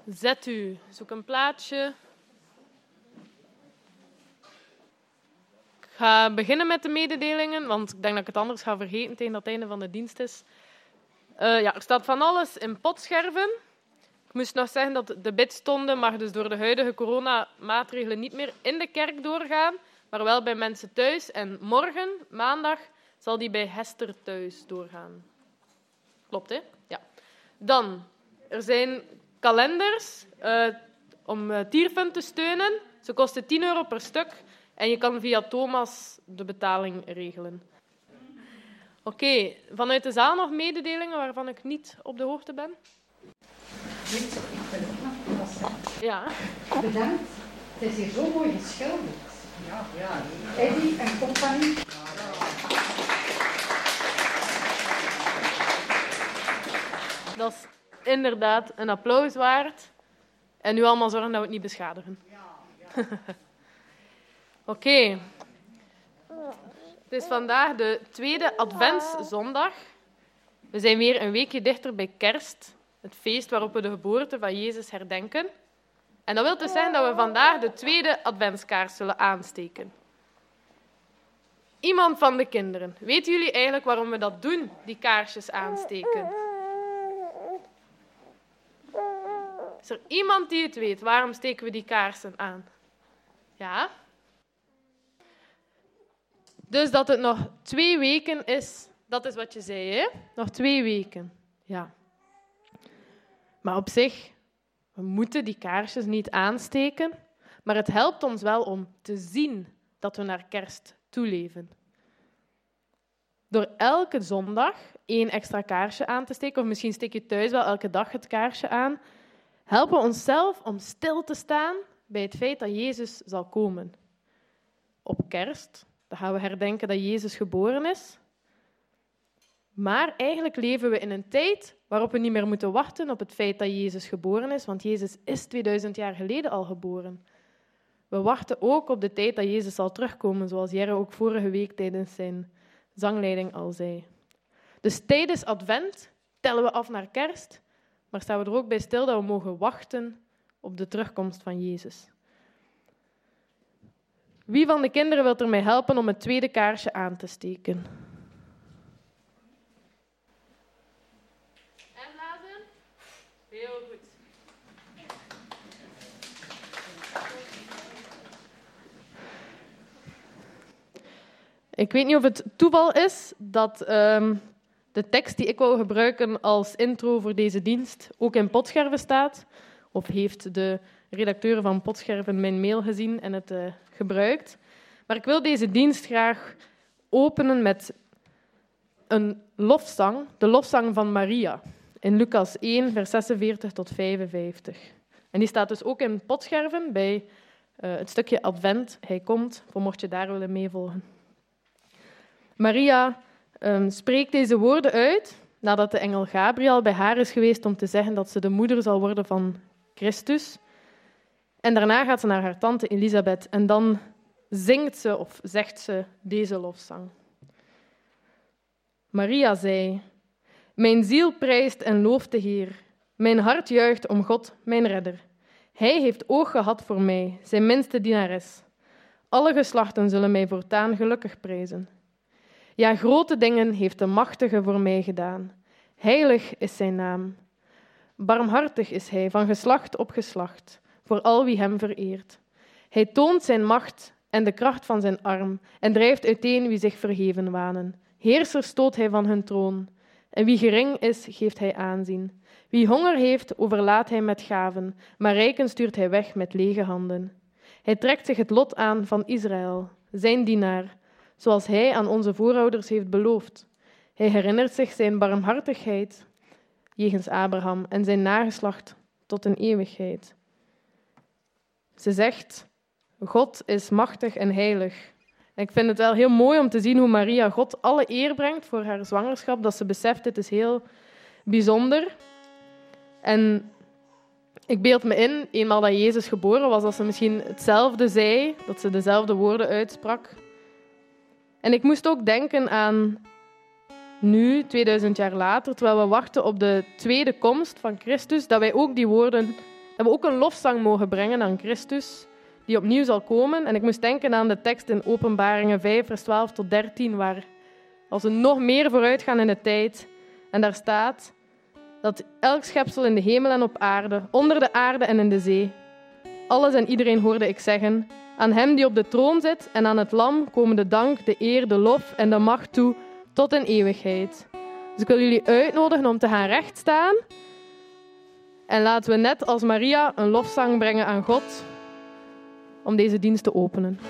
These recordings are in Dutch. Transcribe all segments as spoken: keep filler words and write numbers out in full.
Zet u. Zoek een plaatsje. Ik ga beginnen met de mededelingen, want ik denk dat ik het anders ga vergeten tegen dat het einde van de dienst is. Uh, ja, er staat van alles in potscherven. Ik moest nog zeggen dat de bidstonden mag dus door de huidige coronamaatregelen niet meer in de kerk doorgaan, maar wel bij mensen thuis. En morgen, maandag, zal die bij Hester thuis doorgaan. Klopt, hè? Ja. Dan, er zijn kalenders uh, om uh, Tierfund te steunen. Ze kosten tien euro per stuk en je kan via Thomas de betaling regelen. Oké, okay. Vanuit de zaal nog mededelingen waarvan ik niet op de hoogte ben? Ik wil ook nog wat zeggen. Ja. Bedankt. Het is hier zo mooi geschilderd. Ja, ja. Eddie en compagnie. Dat is inderdaad een applaus waard. En nu allemaal zorgen dat we het niet beschadigen. Ja, ja. Oké. Okay. Het is vandaag de tweede adventszondag. We zijn weer een weekje dichter bij kerst. Het feest waarop we de geboorte van Jezus herdenken. En dat wil dus zeggen dat we vandaag de tweede adventskaars zullen aansteken. Iemand van de kinderen, weten jullie eigenlijk waarom we dat doen, die kaarsjes aansteken? Is er iemand die het weet? Waarom steken we die kaarsen aan? Ja? Dus dat het nog twee weken is, dat is wat je zei, hè? Nog twee weken. Ja. Maar op zich, we moeten die kaarsjes niet aansteken, maar het helpt ons wel om te zien dat we naar kerst toeleven. Door elke zondag één extra kaarsje aan te steken, of misschien steek je thuis wel elke dag het kaarsje aan, helpen we onszelf om stil te staan bij het feit dat Jezus zal komen. Op kerst, dan gaan we herdenken dat Jezus geboren is. Maar eigenlijk leven we in een tijd waarop we niet meer moeten wachten op het feit dat Jezus geboren is, want Jezus is tweeduizend jaar geleden al geboren. We wachten ook op de tijd dat Jezus zal terugkomen, zoals Jerre ook vorige week tijdens zijn zangleiding al zei. Dus tijdens Advent tellen we af naar kerst, maar staan we er ook bij stil dat we mogen wachten op de terugkomst van Jezus. Wie van de kinderen wil er mij helpen om het tweede kaarsje aan te steken? En blazen? Heel goed. Ik weet niet of het toeval is dat um, de tekst die ik wou gebruiken als intro voor deze dienst ook in Potscherven staat. Of heeft de redacteur van Potscherven mijn mail gezien en het uh, gebruikt. Maar ik wil deze dienst graag openen met een lofzang, de lofzang van Maria, in Lucas één, vers zesenveertig tot vijfenvijftig. En die staat dus ook in Potscherven bij uh, het stukje Advent. Hij komt, voor mocht je daar willen meevolgen. Maria um, spreekt deze woorden uit nadat de engel Gabriel bij haar is geweest om te zeggen dat ze de moeder zal worden van Christus. En daarna gaat ze naar haar tante Elisabeth en dan zingt ze of zegt ze deze lofzang. Maria zei: Mijn ziel prijst en looft de Heer. Mijn hart juicht om God, mijn redder. Hij heeft oog gehad voor mij, zijn minste dienares. Alle geslachten zullen mij voortaan gelukkig prijzen. Ja, grote dingen heeft de Machtige voor mij gedaan. Heilig is zijn naam. Barmhartig is hij, van geslacht op geslacht, voor al wie hem vereert. Hij toont zijn macht en de kracht van zijn arm en drijft uiteen wie zich verheven wanen. Heersers stoot hij van hun troon. En wie gering is, geeft hij aanzien. Wie honger heeft, overlaadt hij met gaven, maar rijken stuurt hij weg met lege handen. Hij trekt zich het lot aan van Israël, zijn dienaar, zoals hij aan onze voorouders heeft beloofd. Hij herinnert zich zijn barmhartigheid jegens Abraham en zijn nageslacht tot een eeuwigheid. Ze zegt: God is machtig en heilig. En ik vind het wel heel mooi om te zien hoe Maria God alle eer brengt voor haar zwangerschap, dat ze beseft, dit is heel bijzonder. En ik beeld me in, eenmaal dat Jezus geboren was, dat ze misschien hetzelfde zei, dat ze dezelfde woorden uitsprak. En ik moest ook denken aan nu, tweeduizend jaar later, terwijl we wachten op de tweede komst van Christus, dat wij ook die woorden Dat we ook een lofzang mogen brengen aan Christus, die opnieuw zal komen. En ik moest denken aan de tekst in Openbaringen vijf, vers twaalf tot dertien, waar als we nog meer vooruit gaan in de tijd. En daar staat dat elk schepsel in de hemel en op aarde, onder de aarde en in de zee, alles en iedereen hoorde ik zeggen, aan hem die op de troon zit en aan het lam komen de dank, de eer, de lof en de macht toe tot in eeuwigheid. Dus ik wil jullie uitnodigen om te gaan rechtstaan. En laten we net als Maria een lofzang brengen aan God om deze dienst te openen.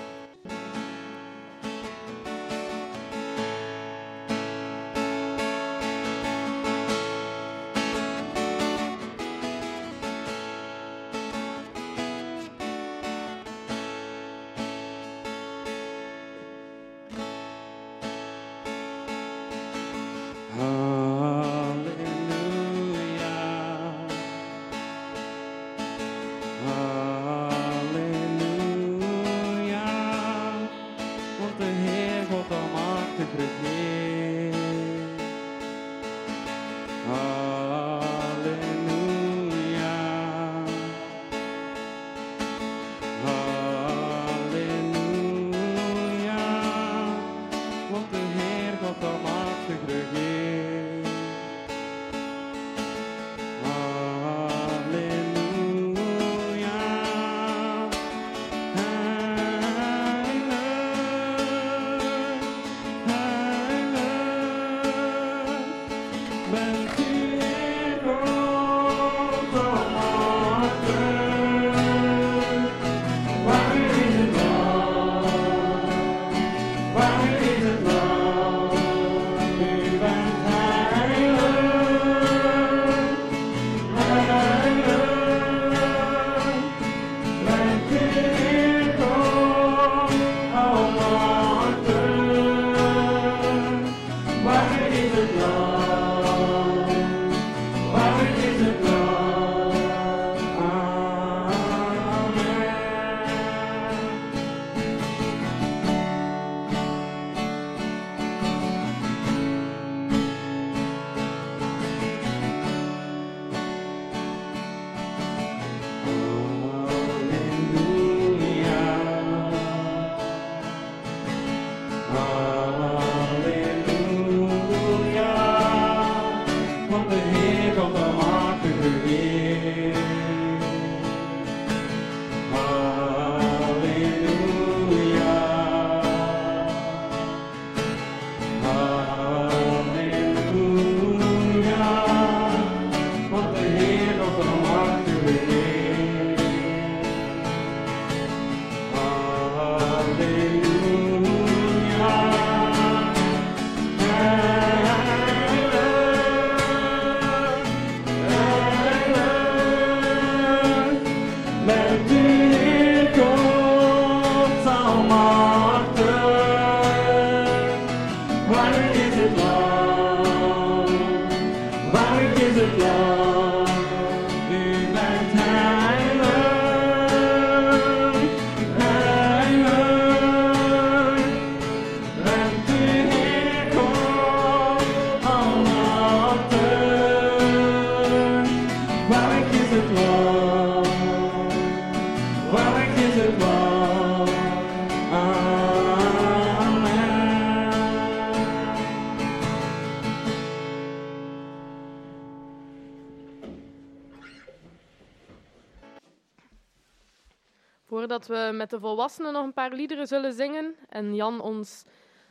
Voordat we met de volwassenen nog een paar liederen zullen zingen en Jan ons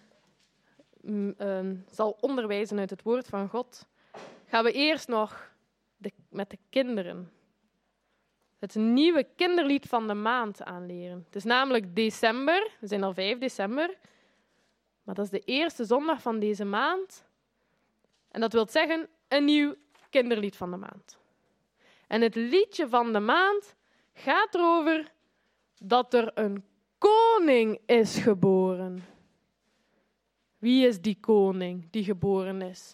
mm, uh, zal onderwijzen uit het woord van God, gaan we eerst nog de, met de kinderen het nieuwe kinderlied van de maand aanleren. Het is namelijk december, we zijn al vijf december, maar dat is de eerste zondag van deze maand. En dat wil zeggen een nieuw kinderlied van de maand. En het liedje van de maand gaat erover dat er een koning is geboren. Wie is die koning die geboren is?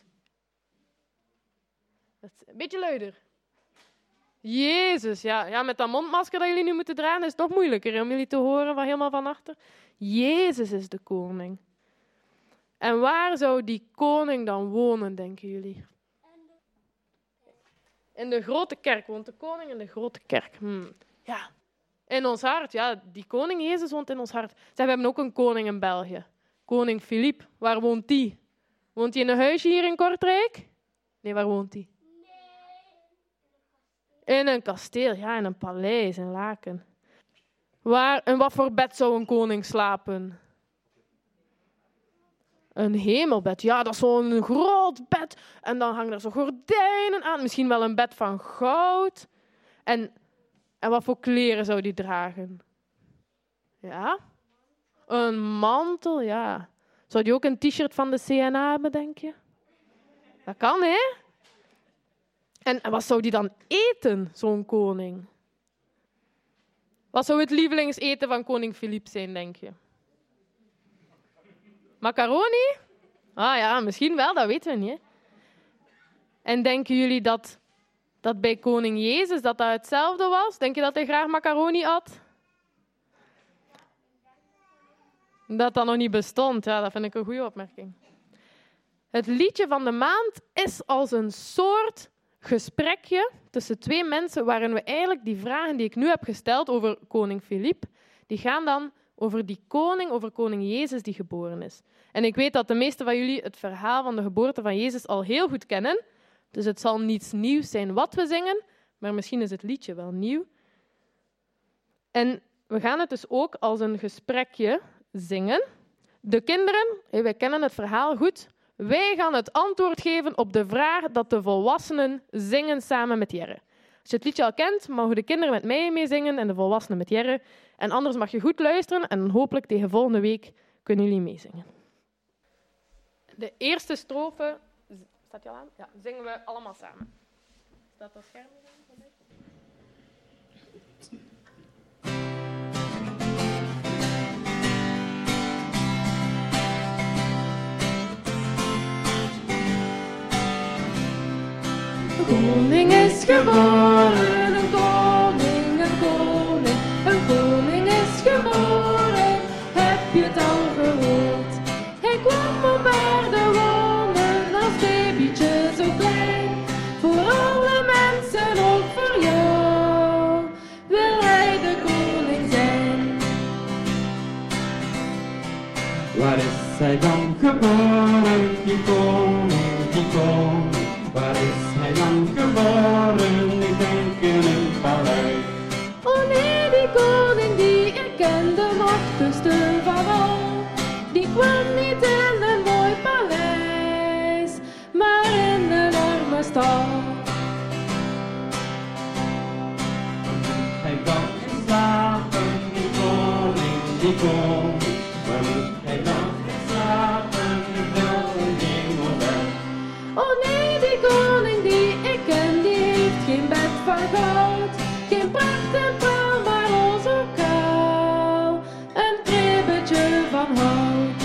Een beetje luider. Jezus, ja, ja, met dat mondmasker dat jullie nu moeten dragen is het toch moeilijker om jullie te horen van helemaal van achter. Jezus is de koning. En waar zou die koning dan wonen, denken jullie? In de grote kerk woont de koning in de grote kerk. Hmm. Ja. In ons hart, ja, die koning Jezus woont in ons hart. Zeg, we hebben ook een koning in België. Koning Filip. Waar woont die? Woont hij in een huisje hier in Kortrijk? Nee, waar woont hij? In een kasteel, ja, in een paleis in Laken. Waar, in wat voor bed zou een koning slapen? Een hemelbed, ja, dat is zo'n groot bed. En dan hangen er zo gordijnen aan. Misschien wel een bed van goud. En, en wat voor kleren zou die dragen? Ja? Een mantel, ja. Zou die ook een t-shirt van de C N A hebben, denk je? Dat kan, hè? En, en wat zou die dan eten, zo'n koning? Wat zou het lievelingseten van koning Filip zijn, denk je? Macaroni? Ah ja, misschien wel, dat weten we niet. Hè? En denken jullie dat, dat bij koning Jezus dat dat hetzelfde was? Denk je dat hij graag macaroni at? Dat dat nog niet bestond, ja, dat vind ik een goede opmerking. Het liedje van de maand is als een soort gesprekje tussen twee mensen waarin we eigenlijk die vragen die ik nu heb gesteld over koning Filip, die gaan dan over die koning, over koning Jezus die geboren is. En ik weet dat de meesten van jullie het verhaal van de geboorte van Jezus al heel goed kennen, dus het zal niets nieuws zijn wat we zingen, maar misschien is het liedje wel nieuw. En we gaan het dus ook als een gesprekje zingen. De kinderen, wij kennen het verhaal goed, wij gaan het antwoord geven op de vraag dat de volwassenen zingen samen met Jerre. Als je het liedje al kent, mogen de kinderen met mij meezingen en de volwassenen met Jerre. En anders mag je goed luisteren en hopelijk tegen volgende week kunnen jullie meezingen. De eerste strofe, staat die al aan? Ja, zingen we allemaal samen. Staat dat scherm aan? Een koning is geboren, een koning, een koning, een koning is geboren, heb je het al gehoord? Hij kwam op aarde wonen als babytje zo klein, voor alle mensen, ook voor jou, wil hij de koning zijn. Waar is hij dan geboren, die koning, die koning? Waar is hij dan geboren? Ik denk in een paleis. Oh nee, die koning die ik kende nog tussen van al, die kwam niet in een mooi paleis, maar in een arme stal. Hij dan geslapen, die koning, die koning. Waar moet hij dan geslapen? Ik wil een hemelbed. Oh nee, die koning die ik ken, die heeft geen bed van goud, geen pracht en praal, maar al zo kaal, een kribbetje van hout.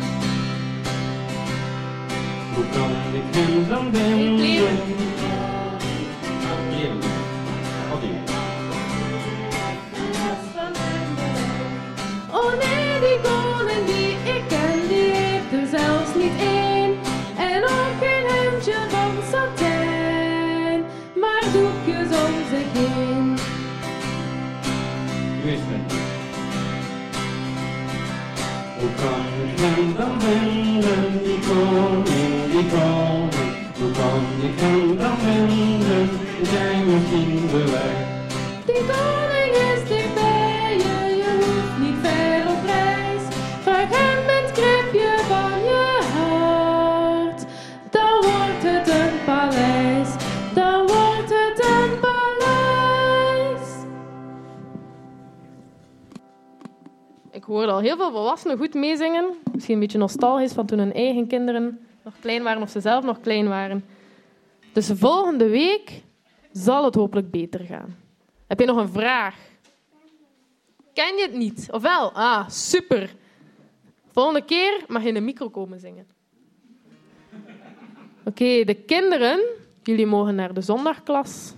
Hoe kan ik hem dan vinden? Ik leer. Ah, hier. Oh, die. Oh nee, die koning die ik ken, die heeft er zelfs niet één, en ook geen hemdje van satijn, maar doekjes om zich heen. U is het. Hoe kan ik hem dan vinden, die koning, die koning? Hoe kan ik hem dan vinden, is hij misschien de weg? Die koning is dicht bij je, je hoeft niet ver op reis. Vraag hem het kribje van je hart, dan wordt het een paleis, dan wordt het een paleis. Ik hoorde al heel veel volwassenen goed meezingen. Misschien een beetje nostalgisch van toen hun eigen kinderen nog klein waren of ze zelf nog klein waren. Dus volgende week zal het hopelijk beter gaan. Heb je nog een vraag? Ken je het niet? Of wel? Ah, super. Volgende keer mag je in de micro komen zingen. Oké, okay, de kinderen, jullie mogen naar de zondagklas.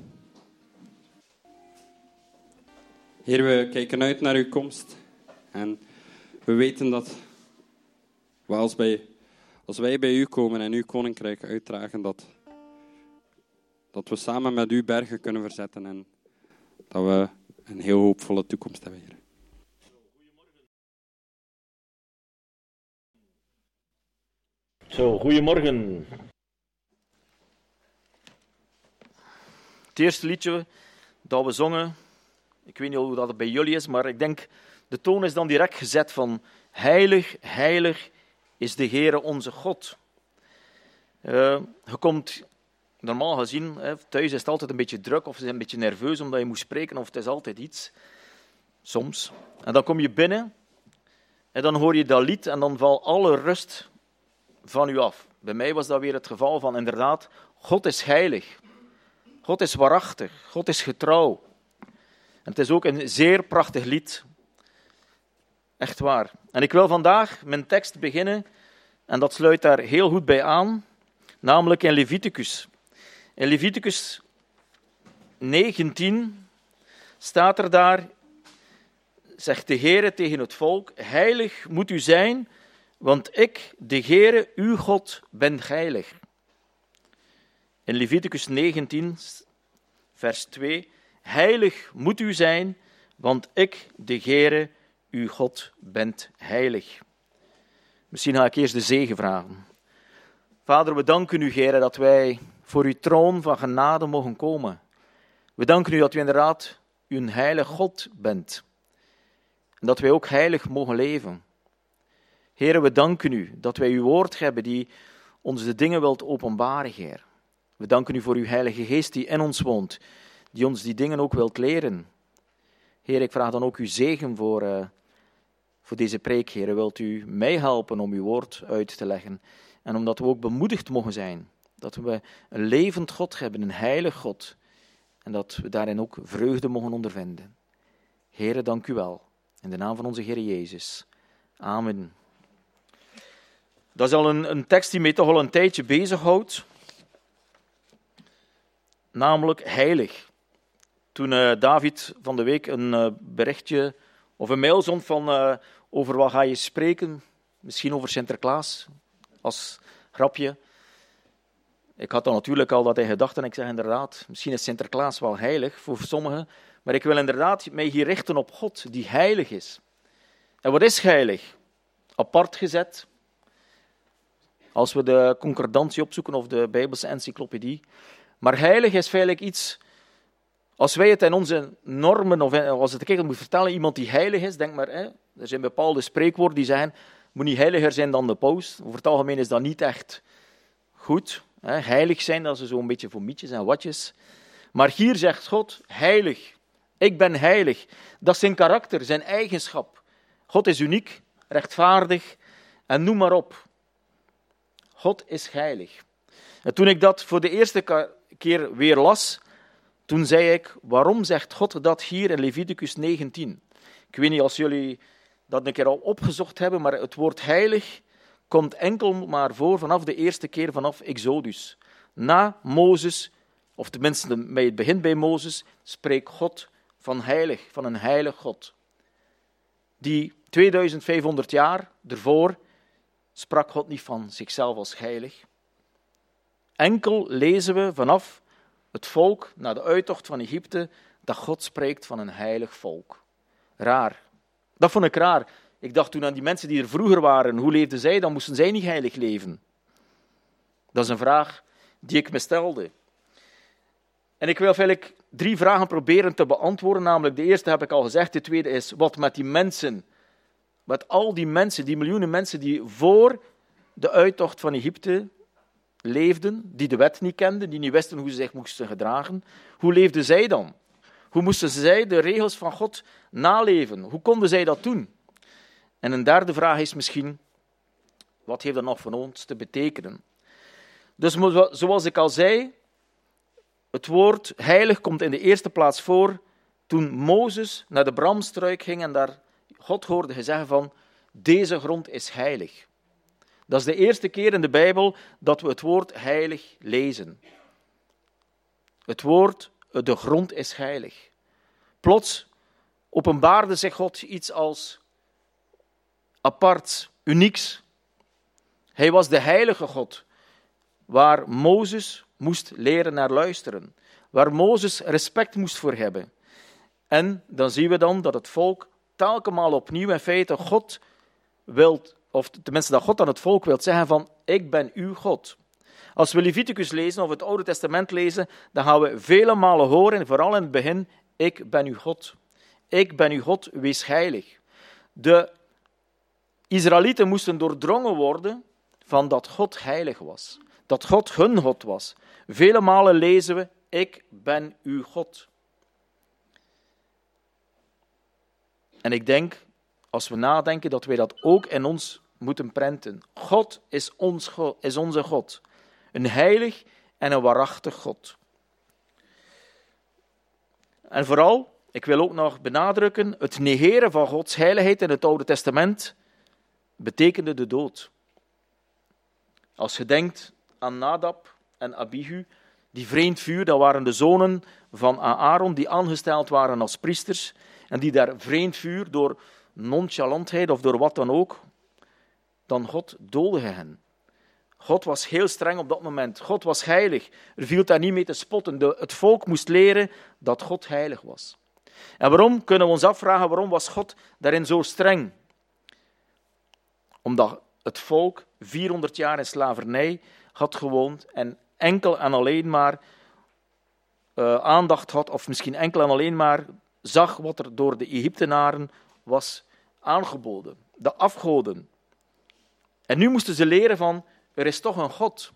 Heer, we kijken uit naar uw komst. En we weten dat we als, bij, als wij bij u komen en uw koninkrijk uitdragen, dat, dat we samen met u bergen kunnen verzetten en dat we een heel hoopvolle toekomst hebben, Heer. Zo, goedemorgen. Het eerste liedje dat we zongen, ik weet niet hoe dat bij jullie is, maar ik denk, de toon is dan direct gezet van heilig, heilig is de Heere onze God. Uh, je komt, normaal gezien, hè, thuis is het altijd een beetje druk of je bent een beetje nerveus omdat je moet spreken of het is altijd iets. Soms. En dan kom je binnen en dan hoor je dat lied en dan valt alle rust van u af. Bij mij was dat weer het geval van inderdaad, God is heilig. God is waarachtig. God is getrouw. En het is ook een zeer prachtig lied. Echt waar. En ik wil vandaag mijn tekst beginnen en dat sluit daar heel goed bij aan, namelijk in Leviticus. In Leviticus negentien staat er daar, zegt de Heere tegen het volk, heilig moet u zijn, want ik, de Heere, uw God, ben heilig. In Leviticus negentien, vers twee, heilig moet u zijn, want ik, de Heere, uw God, ben heilig. Misschien ga ik eerst de zegen vragen. Vader, we danken u, Heere, dat wij voor uw troon van genade mogen komen. We danken u dat u inderdaad uw heilige God bent. En dat wij ook heilig mogen leven. Heere, we danken u dat wij uw woord hebben die ons de dingen wilt openbaren, Heer. We danken u voor uw heilige geest die in ons woont, die ons die dingen ook wilt leren. Heer, ik vraag dan ook uw zegen voor, uh, voor deze preek, Heer. Wilt u mij helpen om uw woord uit te leggen en omdat we ook bemoedigd mogen zijn, dat we een levend God hebben, een heilig God, en dat we daarin ook vreugde mogen ondervinden. Heere, dank u wel. In de naam van onze Heer Jezus. Amen. Dat is al een, een tekst die mij toch al een tijdje bezighoudt. Namelijk heilig. Toen uh, David van de week een uh, berichtje of een mail zond van uh, over wat ga je spreken, misschien over Sinterklaas, als grapje. Ik had dan natuurlijk al dat in gedachten en ik zeg inderdaad, misschien is Sinterklaas wel heilig voor sommigen, maar ik wil inderdaad mij hier richten op God, die heilig is. En wat is heilig? Apart gezet. Als we de concordantie opzoeken of de Bijbelse encyclopedie. Maar heilig is feitelijk iets, als wij het in onze normen, of als het ik moet vertellen, iemand die heilig is, denk maar, hè, er zijn bepaalde spreekwoorden die zeggen, moet niet heiliger zijn dan de paus. Over het algemeen is dat niet echt goed. Hè. Heilig zijn, dat is zo'n beetje voor mietjes en watjes. Maar hier zegt God, heilig. Ik ben heilig. Dat is zijn karakter, zijn eigenschap. God is uniek, rechtvaardig en noem maar op. God is heilig. En toen ik dat voor de eerste keer weer las, toen zei ik, waarom zegt God dat hier in Leviticus negentien? Ik weet niet als jullie dat een keer al opgezocht hebben, maar het woord heilig komt enkel maar voor vanaf de eerste keer vanaf Exodus. Na Mozes, of tenminste bij het begin bij Mozes, spreekt God van heilig, van een heilig God. Die tweeduizendvijfhonderd jaar ervoor sprak God niet van zichzelf als heilig. Enkel lezen we vanaf het volk na de uittocht van Egypte dat God spreekt van een heilig volk. Raar. Dat vond ik raar. Ik dacht toen aan die mensen die er vroeger waren, hoe leefden zij? Dan moesten zij niet heilig leven. Dat is een vraag die ik me stelde. En ik wil eigenlijk drie vragen proberen te beantwoorden. Namelijk, de eerste heb ik al gezegd. De tweede is, wat met die mensen, met al die mensen, die miljoenen mensen die voor de uittocht van Egypte leefden, die de wet niet kenden, die niet wisten hoe ze zich moesten gedragen. Hoe leefden zij dan? Hoe moesten zij de regels van God naleven? Hoe konden zij dat doen? En een derde vraag is misschien, wat heeft dat nog voor ons te betekenen? Dus zoals ik al zei, het woord heilig komt in de eerste plaats voor toen Mozes naar de bramstruik ging en daar God hoorde zeggen van, deze grond is heilig. Dat is de eerste keer in de Bijbel dat we het woord heilig lezen. Het woord, de grond is heilig. Plots openbaarde zich God iets als apart, unieks. Hij was de heilige God, waar Mozes moest leren naar luisteren. Waar Mozes respect moest voor hebben. En dan zien we dan dat het volk telkens opnieuw in feite God wilt, of tenminste dat God aan het volk wil zeggen van, ik ben uw God. Als we Leviticus lezen of het Oude Testament lezen, dan gaan we vele malen horen, vooral in het begin, ik ben uw God. Ik ben uw God, wees heilig. De Israëlieten moesten doordrongen worden van dat God heilig was. Dat God hun God was. Vele malen lezen we, ik ben uw God. En ik denk, als we nadenken, dat wij dat ook in ons moeten prenten. God is, ons God, is onze God. Een heilig en een waarachtig God. En vooral, ik wil ook nog benadrukken, het negeren van Gods heiligheid in het Oude Testament betekende de dood. Als je denkt aan Nadab en Abihu, die vreemd vuur, dat waren de zonen van Aaron, die aangesteld waren als priesters, en die daar vreemd vuur door nonchalantheid of door wat dan ook, dan God doodde hen. God was heel streng op dat moment. God was heilig. Er viel daar niet mee te spotten. De, het volk moest leren dat God heilig was. En waarom, kunnen we ons afvragen, waarom was God daarin zo streng? Omdat het volk vierhonderd jaar in slavernij had gewoond en enkel en alleen maar uh, aandacht had, of misschien enkel en alleen maar zag wat er door de Egyptenaren was aangeboden. De afgoden. En nu moesten ze leren van, er is toch een God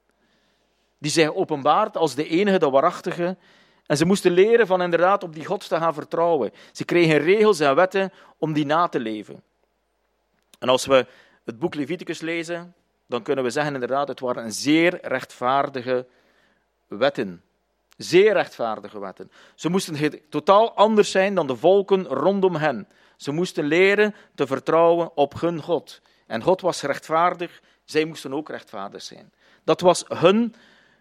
die zich openbaart als de enige, de waarachtige. En ze moesten leren van inderdaad op die God te gaan vertrouwen. Ze kregen regels en wetten om die na te leven. En als we het boek Leviticus lezen, dan kunnen we zeggen inderdaad, het waren een zeer rechtvaardige wetten. Zeer rechtvaardige wetten. Ze moesten totaal anders zijn dan de volken rondom hen. Ze moesten leren te vertrouwen op hun God. En God was rechtvaardig, zij moesten ook rechtvaardig zijn. Dat was hun,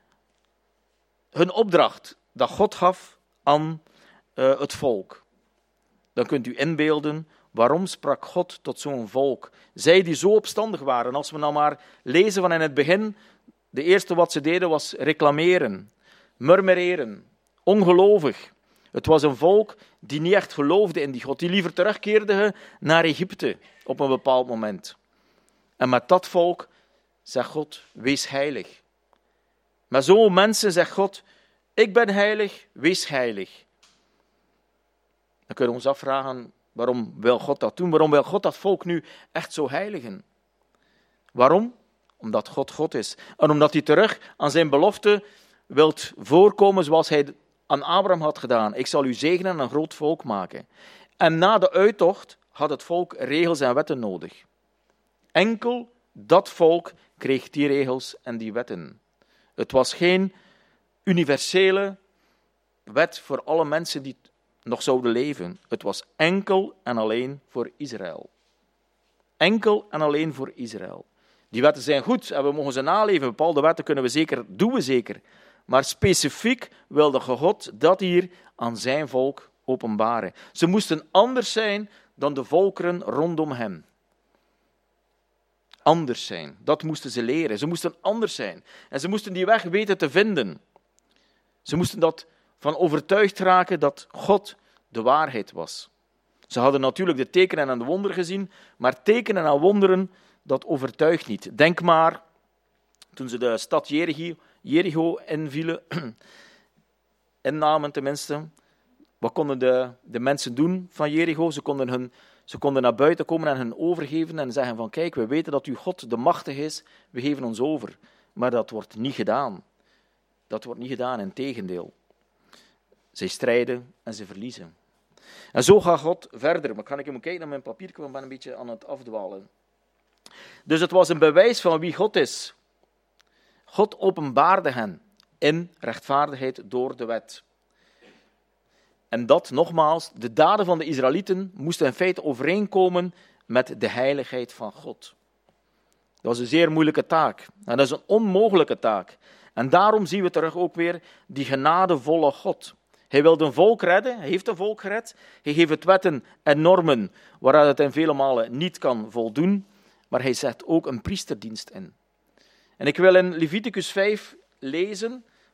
hun opdracht dat God gaf aan uh, het volk. Dan kunt u inbeelden, waarom sprak God tot zo'n volk? Zij die zo opstandig waren. Als we nou maar lezen van in het begin, de eerste wat ze deden was reclameren, murmureren, ongelovig. Het was een volk die niet echt geloofde in die God, die liever terugkeerde naar Egypte op een bepaald moment. En met dat volk zegt God, wees heilig. Met zo'n mensen zegt God, ik ben heilig, wees heilig. Dan kunnen we ons afvragen, waarom wil God dat doen? Waarom wil God dat volk nu echt zo heiligen? Waarom? Omdat God God is. En omdat hij terug aan zijn belofte wilt voorkomen zoals hij aan Abraham had gedaan. Ik zal u zegenen en een groot volk maken. En na de uittocht had het volk regels en wetten nodig. Enkel dat volk kreeg die regels en die wetten. Het was geen universele wet voor alle mensen die nog zouden leven. Het was enkel en alleen voor Israël. Enkel en alleen voor Israël. Die wetten zijn goed en we mogen ze naleven. Bepaalde wetten kunnen we zeker, doen we zeker. Maar specifiek wilde God dat hier aan zijn volk openbaren. Ze moesten anders zijn dan de volkeren rondom hen. Anders zijn, dat moesten ze leren. Ze moesten anders zijn. En ze moesten die weg weten te vinden. Ze moesten dat van overtuigd raken dat God de waarheid was. Ze hadden natuurlijk de tekenen en de wonderen gezien, maar tekenen en wonderen, dat overtuigt niet. Denk maar, toen ze de stad Jericho, Jericho invielen, innamen tenminste, wat konden de, de mensen doen van Jericho? Ze konden, hun, ze konden naar buiten komen en hen overgeven en zeggen van kijk, we weten dat uw God de machtige is, we geven ons over. Maar dat wordt niet gedaan. Dat wordt niet gedaan, integendeel. Zij strijden en ze verliezen. En zo gaat God verder. Maar kan ik even kijken naar mijn papier, ik ben een beetje aan het afdwalen. Dus het was een bewijs van wie God is. God openbaarde hen in rechtvaardigheid door de wet. En dat, nogmaals, de daden van de Israëlieten moesten in feite overeenkomen met de heiligheid van God. Dat was een zeer moeilijke taak. En dat is een onmogelijke taak. En daarom zien we terug ook weer die genadevolle God. Hij wilde een volk redden, hij heeft een volk gered. Hij geeft het wetten en normen waaruit het in vele malen niet kan voldoen. Maar hij zet ook een priesterdienst in. En ik wil in Leviticus vijf lezen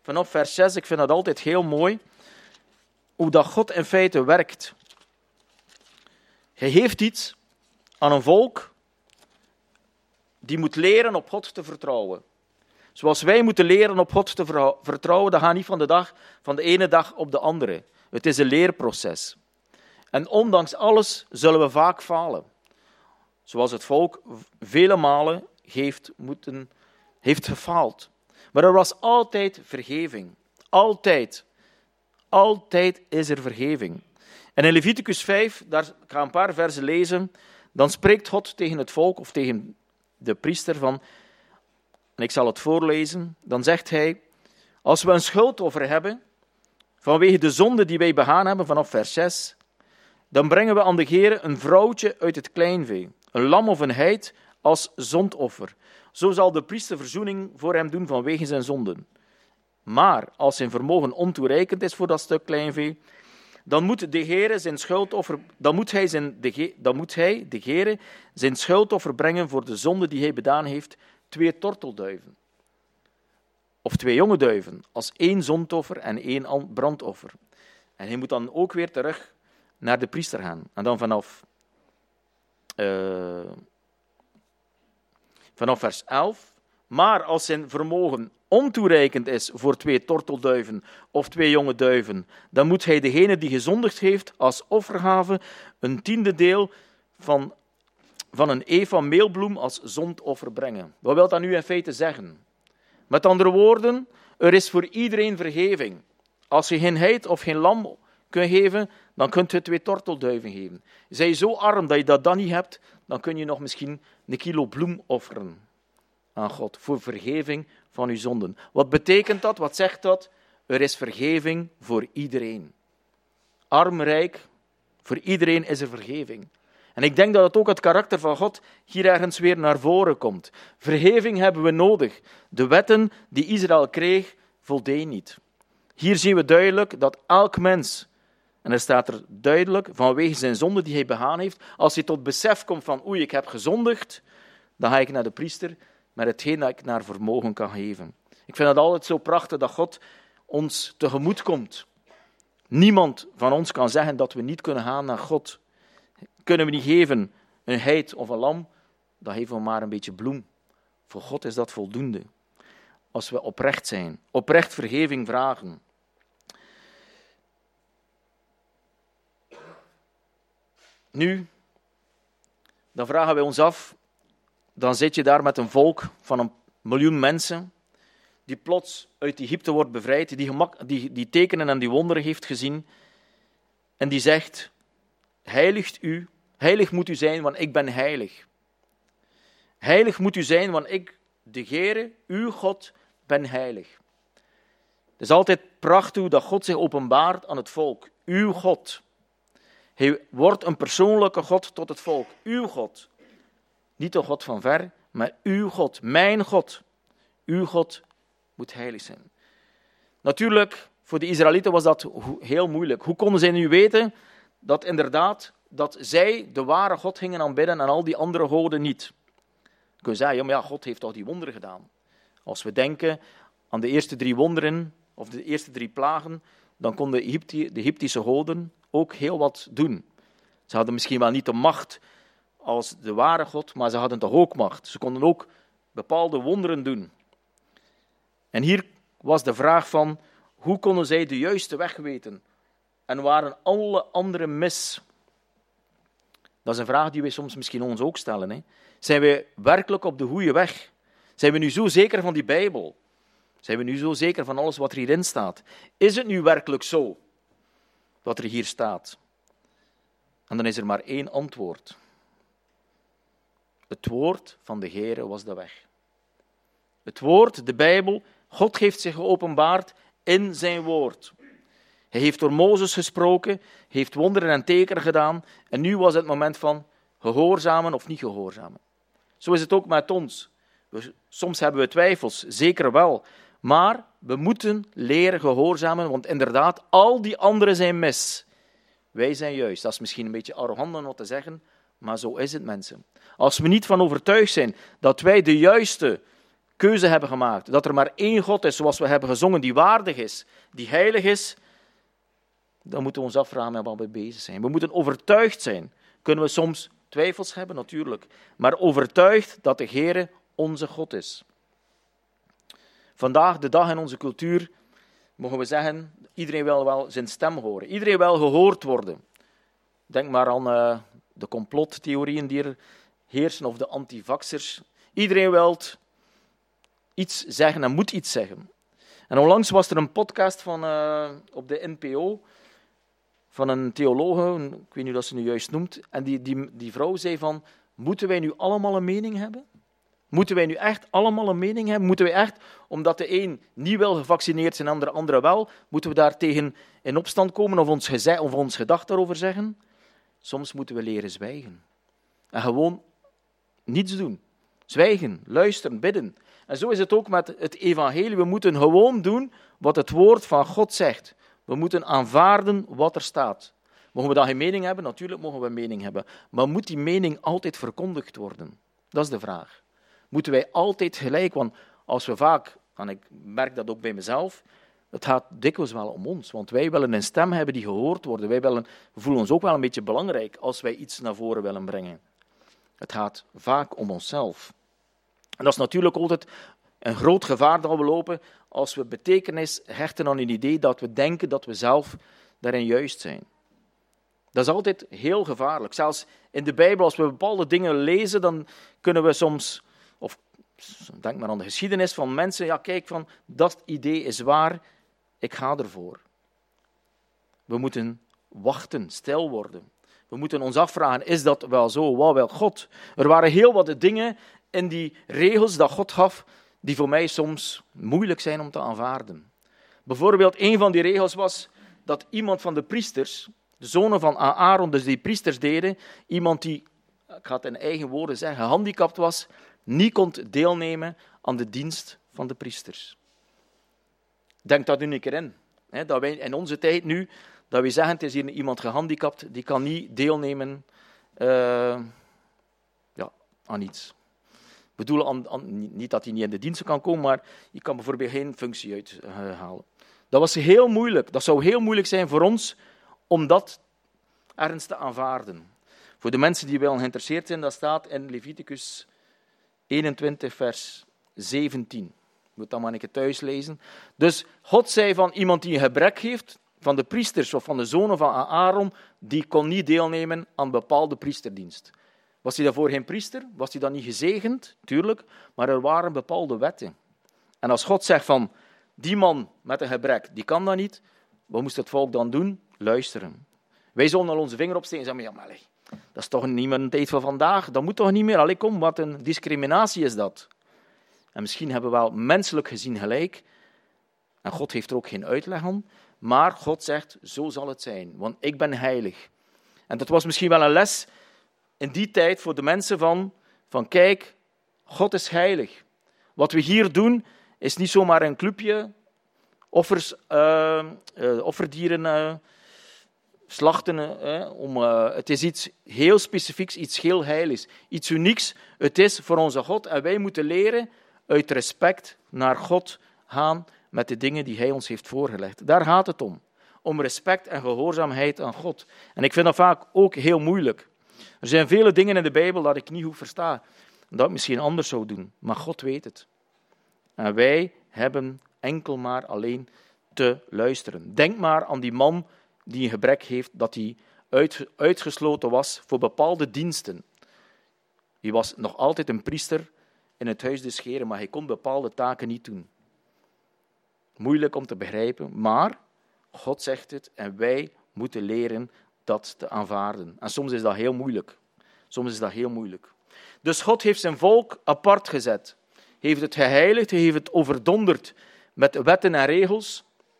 vanaf vers zes, ik vind dat altijd heel mooi, hoe dat God in feite werkt. Hij heeft iets aan een volk die moet leren op God te vertrouwen. Zoals wij moeten leren op God te vertrouwen, dat gaat niet van de, dag, van de ene dag op de andere. Het is een leerproces. En ondanks alles zullen we vaak falen. Zoals het volk vele malen heeft, moeten, heeft gefaald. Maar er was altijd vergeving. Altijd. Altijd is er vergeving. En in Leviticus vijf, daar ga ik een paar versen lezen, dan spreekt God tegen het volk of tegen de priester van, en ik zal het voorlezen, dan zegt hij, als we een schuldoffer hebben, vanwege de zonde die wij begaan hebben, vanaf vers zes, dan brengen we aan de Heere een vrouwtje uit het kleinvee, een lam of een heid als zondoffer. Zo zal de priester verzoening voor hem doen vanwege zijn zonden. Maar als zijn vermogen ontoereikend is voor dat stuk kleinvee, dan moet de Heere zijn schuldoffer, dan moet hij, zijn, de, dan moet hij, de Heere, zijn schuldoffer brengen voor de zonde die hij bedaan heeft, twee tortelduiven. Of twee jonge duiven, als één zondoffer en één brandoffer. En hij moet dan ook weer terug naar de priester gaan. En dan vanaf, uh, vanaf vers elf. Maar als zijn vermogen ontoereikend is voor twee tortelduiven of twee jonge duiven, dan moet hij degene die gezondigd heeft als offergave een tiende deel van, van een eva meelbloem als zondoffer brengen. Wat wil dat nu in feite zeggen? Met andere woorden, er is voor iedereen vergeving. Als je geen heid of geen lam kunt geven, dan kunt je twee tortelduiven geven. Zij je zo arm dat je dat dan niet hebt, dan kun je nog misschien een kilo bloem offeren aan God voor vergeving van uw zonden. Wat betekent dat? Wat zegt dat? Er is vergeving voor iedereen. Arm, rijk, voor iedereen is er vergeving. En ik denk dat het ook het karakter van God hier ergens weer naar voren komt. Vergeving hebben we nodig. De wetten die Israël kreeg, voldeden niet. Hier zien we duidelijk dat elk mens, en er staat er duidelijk, vanwege zijn zonde die hij begaan heeft, als hij tot besef komt van oei, ik heb gezondigd, dan ga ik naar de priester met hetgeen dat ik naar vermogen kan geven. Ik vind het altijd zo prachtig dat God ons tegemoet komt. Niemand van ons kan zeggen dat we niet kunnen gaan naar God. Kunnen we niet geven een heid of een lam, dan geven we maar een beetje bloem. Voor God is dat voldoende. Als we oprecht zijn, oprecht vergeving vragen. Nu, dan vragen wij ons af, dan zit je daar met een volk van een miljoen mensen, die plots uit Egypte wordt bevrijd, die, gemak, die, die tekenen en die wonderen heeft gezien, en die zegt, heiligt u, heilig moet u zijn, want ik ben heilig. Heilig moet u zijn, want ik, de Heere, uw God, ben heilig. Het is altijd prachtig dat God zich openbaart aan het volk. Uw God. Hij wordt een persoonlijke God tot het volk. Uw God. Niet de God van ver, maar uw God. Mijn God. Uw God moet heilig zijn. Natuurlijk, voor de Israëlieten was dat heel moeilijk. Hoe konden zij nu weten dat inderdaad dat zij de ware God gingen aanbidden en al die andere goden niet? Je kunt zeggen, ja, maar ja, God heeft toch die wonderen gedaan. Als we denken aan de eerste drie wonderen, of de eerste drie plagen, dan konden de, Egypti- de Egyptische goden ook heel wat doen. Ze hadden misschien wel niet de macht als de ware God, maar ze hadden toch ook macht. Ze konden ook bepaalde wonderen doen. En hier was de vraag van, hoe konden zij de juiste weg weten? En waren alle anderen mis? Dat is een vraag die wij soms misschien ons ook stellen. Hè? Zijn wij werkelijk op de goede weg? Zijn we nu zo zeker van die Bijbel? Zijn we nu zo zeker van alles wat er hierin staat? Is het nu werkelijk zo, wat er hier staat? En dan is er maar één antwoord. Het woord van de Heere was de weg. Het woord, de Bijbel, God heeft zich geopenbaard in zijn woord. Hij heeft door Mozes gesproken, heeft wonderen en tekenen gedaan, en nu was het moment van gehoorzamen of niet gehoorzamen. Zo is het ook met ons. We, soms hebben we twijfels, zeker wel, maar we moeten leren gehoorzamen, want inderdaad, al die anderen zijn mis. Wij zijn juist. Dat is misschien een beetje arrogant om wat te zeggen, maar zo is het, mensen. Als we niet van overtuigd zijn dat wij de juiste keuze hebben gemaakt, dat er maar één God is, zoals we hebben gezongen, die waardig is, die heilig is, dan moeten we ons afvragen met wat we bezig zijn. We moeten overtuigd zijn. Kunnen we soms twijfels hebben? Natuurlijk. Maar overtuigd dat de Heere onze God is. Vandaag, de dag in onze cultuur, mogen we zeggen, iedereen wil wel zijn stem horen. Iedereen wil gehoord worden. Denk maar aan uh, de complottheorieën die er heersen, of de antivaxers. Iedereen wil iets zeggen en moet iets zeggen. En onlangs was er een podcast van, uh, op de N P O van een theologe, ik weet niet hoe dat ze nu juist noemt, en die, die, die vrouw zei van, moeten wij nu allemaal een mening hebben? Moeten wij nu echt allemaal een mening hebben? Moeten wij echt, omdat de een niet wil gevaccineerd zijn en de andere wel, moeten we daar tegen in opstand komen of ons, geze- of ons gedacht daarover zeggen? Soms moeten we leren zwijgen. En gewoon niets doen. Zwijgen, luisteren, bidden. En zo is het ook met het evangelie. We moeten gewoon doen wat het woord van God zegt. We moeten aanvaarden wat er staat. Mogen we dan geen mening hebben? Natuurlijk mogen we een mening hebben. Maar moet die mening altijd verkondigd worden? Dat is de vraag. Moeten wij altijd gelijk? Want als we vaak, en ik merk dat ook bij mezelf, het gaat dikwijls wel om ons. Want wij willen een stem hebben die gehoord wordt. Wij willen, we voelen ons ook wel een beetje belangrijk als wij iets naar voren willen brengen. Het gaat vaak om onszelf. En dat is natuurlijk altijd een groot gevaar dat we lopen als we betekenis hechten aan een idee dat we denken dat we zelf daarin juist zijn. Dat is altijd heel gevaarlijk. Zelfs in de Bijbel, als we bepaalde dingen lezen, dan kunnen we soms, of denk maar aan de geschiedenis van mensen, ja kijk, van dat idee is waar, ik ga ervoor. We moeten wachten, stil worden. We moeten ons afvragen, is dat wel zo? Wat wil God? Er waren heel wat dingen in die regels dat God gaf, die voor mij soms moeilijk zijn om te aanvaarden. Bijvoorbeeld, een van die regels was dat iemand van de priesters, de zonen van Aaron, dus die priesters deden, iemand die, ik ga het in eigen woorden zeggen, gehandicapt was, niet kon deelnemen aan de dienst van de priesters. Denk dat nu een keer in. Hè, dat wij in onze tijd nu, dat we zeggen, het is hier iemand gehandicapt, die kan niet deelnemen uh, ja, aan iets. We bedoelen aan, aan, niet dat hij niet in de dienst kan komen, maar je kan bijvoorbeeld geen functie uithalen. Dat was heel moeilijk. Dat zou heel moeilijk zijn voor ons om dat ergens te aanvaarden. Voor de mensen die wel geïnteresseerd zijn, dat staat in Leviticus eenentwintig, vers zeventien. Je moet dat maar een keer thuis lezen. Dus God zei van iemand die een gebrek heeft, van de priesters of van de zonen van Aaron, die kon niet deelnemen aan bepaalde priesterdienst. Was hij daarvoor geen priester? Was hij dan niet gezegend? Tuurlijk, maar er waren bepaalde wetten. En als God zegt van, die man met een gebrek, die kan dat niet, wat moest het volk dan doen? Luisteren. Wij zullen al onze vinger opsteken en zeggen, ja, maar allee, dat is toch niet meer een tijd van vandaag, dat moet toch niet meer, allee, kom, wat een discriminatie is dat. En misschien hebben we wel menselijk gezien gelijk, en God heeft er ook geen uitleg aan, maar God zegt, zo zal het zijn, want ik ben heilig. En dat was misschien wel een les in die tijd voor de mensen van, van kijk, God is heilig. Wat we hier doen, is niet zomaar een clubje, offers, uh, uh, offerdieren uh, slachten. Uh, om, uh, het is iets heel specifieks, iets heel heiligs, iets unieks. Het is voor onze God en wij moeten leren uit respect naar God gaan met de dingen die Hij ons heeft voorgelegd. Daar gaat het om. Om respect en gehoorzaamheid aan God. En ik vind dat vaak ook heel moeilijk. Er zijn vele dingen in de Bijbel dat ik niet goed versta. Dat ik misschien anders zou doen. Maar God weet het. En wij hebben enkel maar alleen te luisteren. Denk maar aan die man die een gebrek heeft, dat hij uit, uitgesloten was voor bepaalde diensten. Hij was nog altijd een priester in het huis des Heren, maar hij kon bepaalde taken niet doen. Moeilijk om te begrijpen, maar God zegt het en wij moeten leren dat te aanvaarden. En soms is dat heel moeilijk. Soms is dat heel moeilijk. Dus God heeft zijn volk apart gezet. Hij heeft het geheiligd, hij heeft het overdonderd met wetten en regels.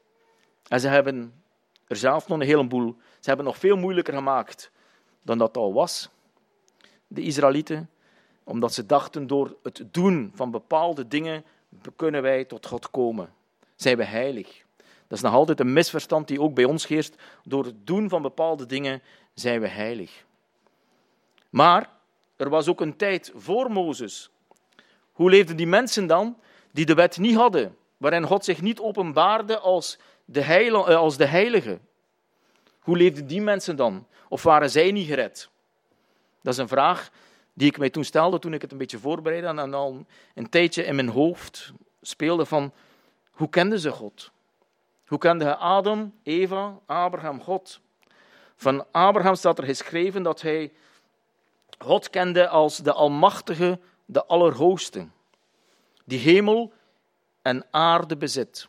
En ze hebben er zelf nog een heleboel, ze hebben het nog veel moeilijker gemaakt dan dat al was, de Israëlieten. Omdat ze dachten, door het doen van bepaalde dingen kunnen wij tot God komen. Zijn we heilig. Dat is nog altijd een misverstand die ook bij ons heerst. Door het doen van bepaalde dingen zijn we heilig. Maar er was ook een tijd voor Mozes, Hoe leefden die mensen dan die de wet niet hadden, waarin God zich niet openbaarde als de, heil, als de heilige? Hoe leefden die mensen dan? Of waren zij niet gered? Dat is een vraag die ik mij toen stelde, toen ik het een beetje voorbereidde en al een tijdje in mijn hoofd speelde van, hoe kenden ze God? Hoe kenden Adam, Eva, Abraham, God? Van Abraham staat er geschreven dat hij God kende als de Almachtige, de Allerhoogste, die hemel en aarde bezit.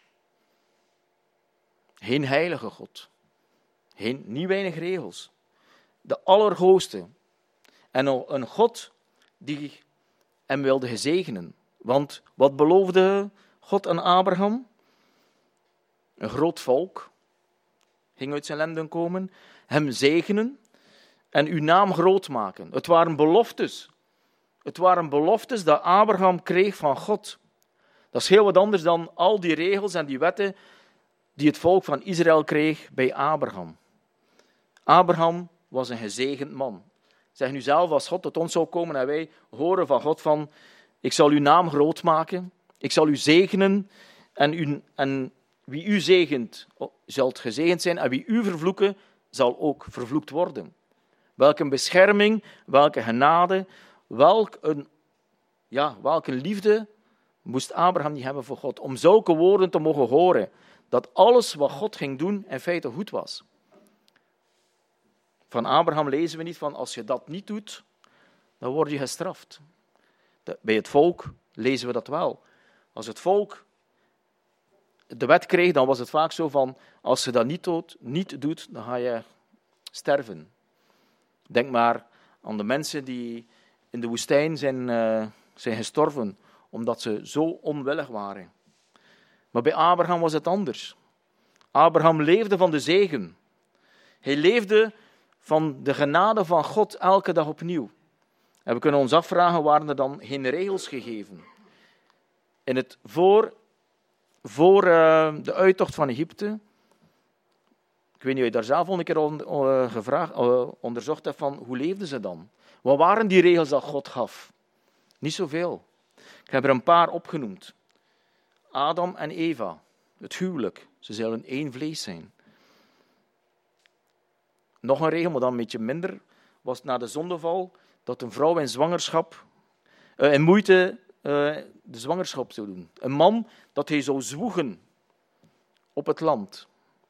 Geen heilige God, geen, niet weinig regels, de Allerhoogste. En een God die hem wilde gezegenen. Want wat beloofde God aan Abraham? Een groot volk ging uit zijn lenden komen, hem zegenen en uw naam groot maken. Het waren beloftes. Het waren beloftes dat Abraham kreeg van God. Dat is heel wat anders dan al die regels en die wetten die het volk van Israël kreeg bij Abraham. Abraham was een gezegend man. Zeg nu zelf, als God tot ons zou komen en wij horen van God van, ik zal uw naam groot maken, ik zal u zegenen en, u, en wie u zegent, zal gezegend zijn en wie u vervloeken, zal ook vervloekt worden. Welke bescherming, welke genade, welk een, ja, welke liefde moest Abraham niet hebben voor God, om zulke woorden te mogen horen, dat alles wat God ging doen in feite goed was. Van Abraham lezen we niet van, als je dat niet doet, dan word je gestraft. Bij het volk lezen we dat wel. Als het volk de wet kreeg, dan was het vaak zo van, als je dat niet doet, niet doet dan ga je sterven. Denk maar aan de mensen die in de woestijn zijn, uh, zijn gestorven, omdat ze zo onwillig waren. Maar bij Abraham was het anders. Abraham leefde van de zegen. Hij leefde van de genade van God elke dag opnieuw. En we kunnen ons afvragen, waren er dan geen regels gegeven? In het voor, voor uh, de uittocht van Egypte, ik weet niet of je daar zelf al een keer on, uh, gevraagd, uh, onderzocht hebt van, hoe leefden ze dan? Wat waren die regels dat God gaf? Niet zoveel. Ik heb er een paar opgenoemd. Adam en Eva, het huwelijk, ze zullen één vlees zijn. Nog een regel, maar dan een beetje minder, was na de zondeval dat een vrouw in zwangerschap, uh, in moeite uh, de zwangerschap zou doen. Een man dat hij zou zwoegen op het land.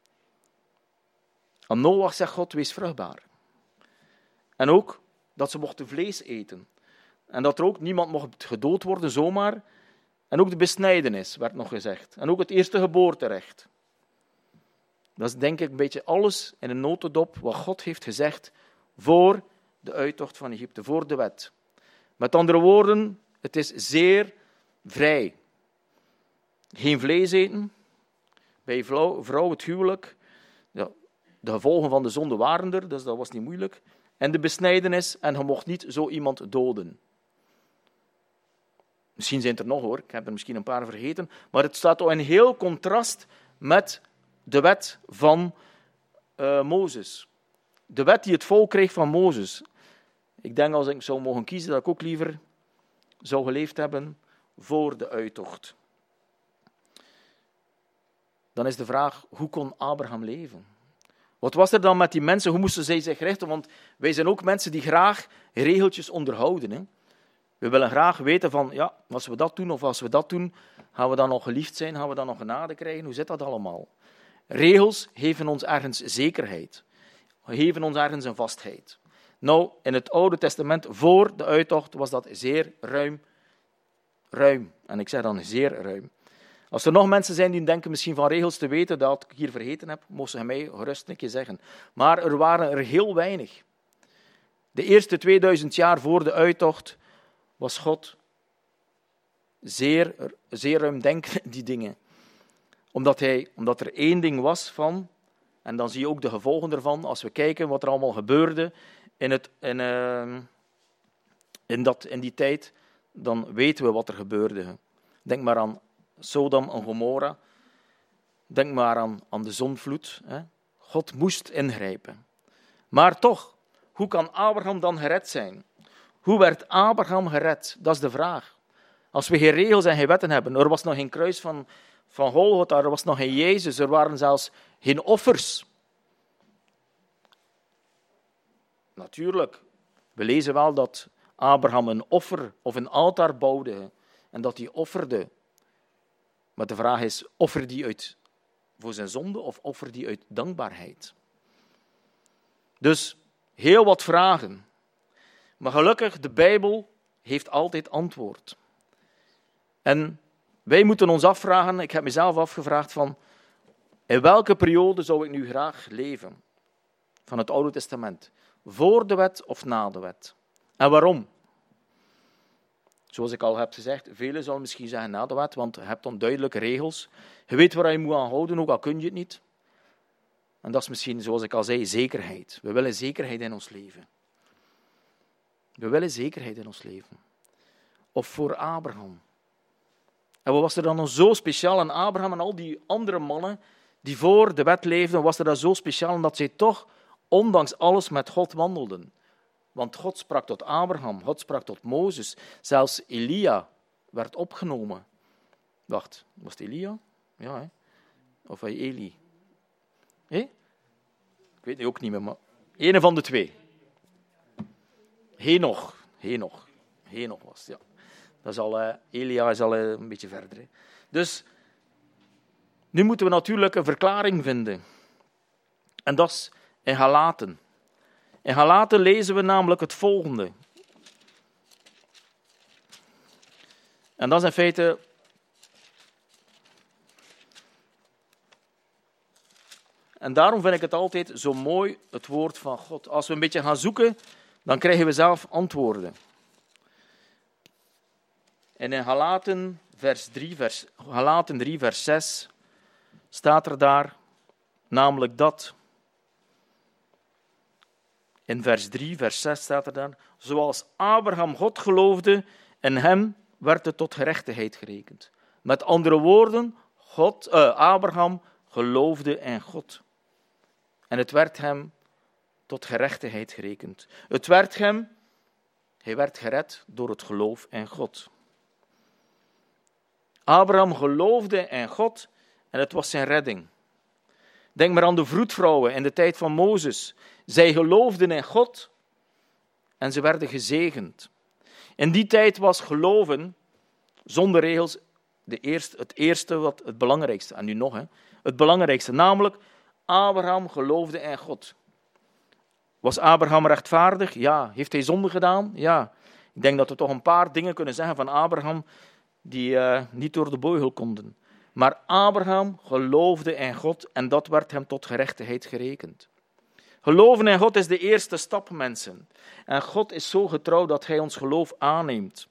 Aan Noach zegt God, wees vruchtbaar. En ook dat ze mochten vlees eten. En dat er ook niemand mocht gedood worden zomaar. En ook de besnijdenis werd nog gezegd. En ook het eerste geboorterecht. Dat is denk ik een beetje alles in een notendop wat God heeft gezegd voor de uittocht van Egypte, voor de wet. Met andere woorden, het is zeer vrij. Geen vlees eten, bij vrouw, vrouw het huwelijk. Ja, de gevolgen van de zonde waren er, dus dat was niet moeilijk. En de besnijdenis, en je mocht niet zo iemand doden. Misschien zijn het er nog hoor, ik heb er misschien een paar vergeten, maar het staat al in heel contrast met de wet van uh, Mozes. De wet die het volk kreeg van Mozes. Ik denk als ik zou mogen kiezen, dat ik ook liever zou geleefd hebben voor de uittocht. Dan is de vraag, hoe kon Abraham leven? Wat was er dan met die mensen? Hoe moesten zij zich richten? Want wij zijn ook mensen die graag regeltjes onderhouden. Hè? We willen graag weten van, ja, als we dat doen of als we dat doen, gaan we dan nog geliefd zijn? Gaan we dan nog genade krijgen? Hoe zit dat allemaal? Regels geven ons ergens zekerheid. Geven ons ergens een vastheid. Nou, in het Oude Testament, voor de uittocht, was dat zeer ruim. Ruim. En ik zeg dan zeer ruim. Als er nog mensen zijn die denken misschien van regels te weten dat ik hier vergeten heb, mogen ze mij gerust een keer zeggen. Maar er waren er heel weinig. De eerste tweeduizend jaar voor de uittocht was God zeer, zeer ruimdenkend, die dingen. Omdat, hij, omdat er één ding was van, en dan zie je ook de gevolgen ervan, als we kijken wat er allemaal gebeurde in, het, in, uh, in, dat, in die tijd, dan weten we wat er gebeurde. Denk maar aan Sodom en Gomorra. Denk maar aan, aan de zondvloed. Hè. God moest ingrijpen. Maar toch, hoe kan Abraham dan gered zijn? Hoe werd Abraham gered? Dat is de vraag. Als we geen regels en geen wetten hebben. Er was nog geen kruis van, van Golgotha, er was nog geen Jezus, er waren zelfs geen offers. Natuurlijk, we lezen wel dat Abraham een offer of een altaar bouwde en dat hij offerde. Maar de vraag is, offer die uit voor zijn zonde of offer die uit dankbaarheid? Dus heel wat vragen. Maar gelukkig, de Bijbel heeft altijd antwoord. En wij moeten ons afvragen, ik heb mezelf afgevraagd van, in welke periode zou ik nu graag leven? Van het Oude Testament. Voor de wet of na de wet? En waarom? Zoals ik al heb gezegd, velen zullen misschien zeggen na de wet, want je hebt dan duidelijke regels. Je weet waar je moet aan houden, ook al kun je het niet. En dat is misschien, zoals ik al zei, zekerheid. We willen zekerheid in ons leven. We willen zekerheid in ons leven. Of voor Abraham. En wat was er dan zo speciaal aan Abraham en al die andere mannen die voor de wet leefden, was er dan zo speciaal omdat zij toch, ondanks alles, met God wandelden. Want God sprak tot Abraham, God sprak tot Mozes. Zelfs Elia werd opgenomen. Wacht, was het Elia? Ja, hè? Of hij Eli? Hé? Ik weet het ook niet meer, maar een van de twee. Henoch. Henoch. Henoch was het, ja. Dat is al, uh, Elia is al uh, een beetje verder. Hè. Dus, nu moeten we natuurlijk een verklaring vinden. En dat is in Galaten. In Galaten lezen we namelijk het volgende. En dat is in feite... En daarom vind ik het altijd zo mooi, het woord van God. Als we een beetje gaan zoeken, dan krijgen we zelf antwoorden. En in Galaten, vers drie, vers, Galaten drie, vers zes, staat er daar namelijk dat. In vers drie, vers zes staat er dan, zoals Abraham God geloofde, en hem werd het tot gerechtigheid gerekend. Met andere woorden, God, uh, Abraham geloofde in God. En het werd hem tot gerechtigheid gerekend. Het werd hem, hij werd gered door het geloof in God. Abraham geloofde in God en het was zijn redding. Denk maar aan de vroedvrouwen in de tijd van Mozes. Zij geloofden in God en ze werden gezegend. In die tijd was geloven, zonder regels, de eerste, het eerste, wat het belangrijkste. En nu nog, hè, het belangrijkste, namelijk Abraham geloofde in God. Was Abraham rechtvaardig? Ja. Heeft hij zonde gedaan? Ja. Ik denk dat we toch een paar dingen kunnen zeggen van Abraham die uh, niet door de beugel konden. Maar Abraham geloofde in God en dat werd hem tot gerechtigheid gerekend. Geloven in God is de eerste stap, mensen. En God is zo getrouw dat hij ons geloof aanneemt.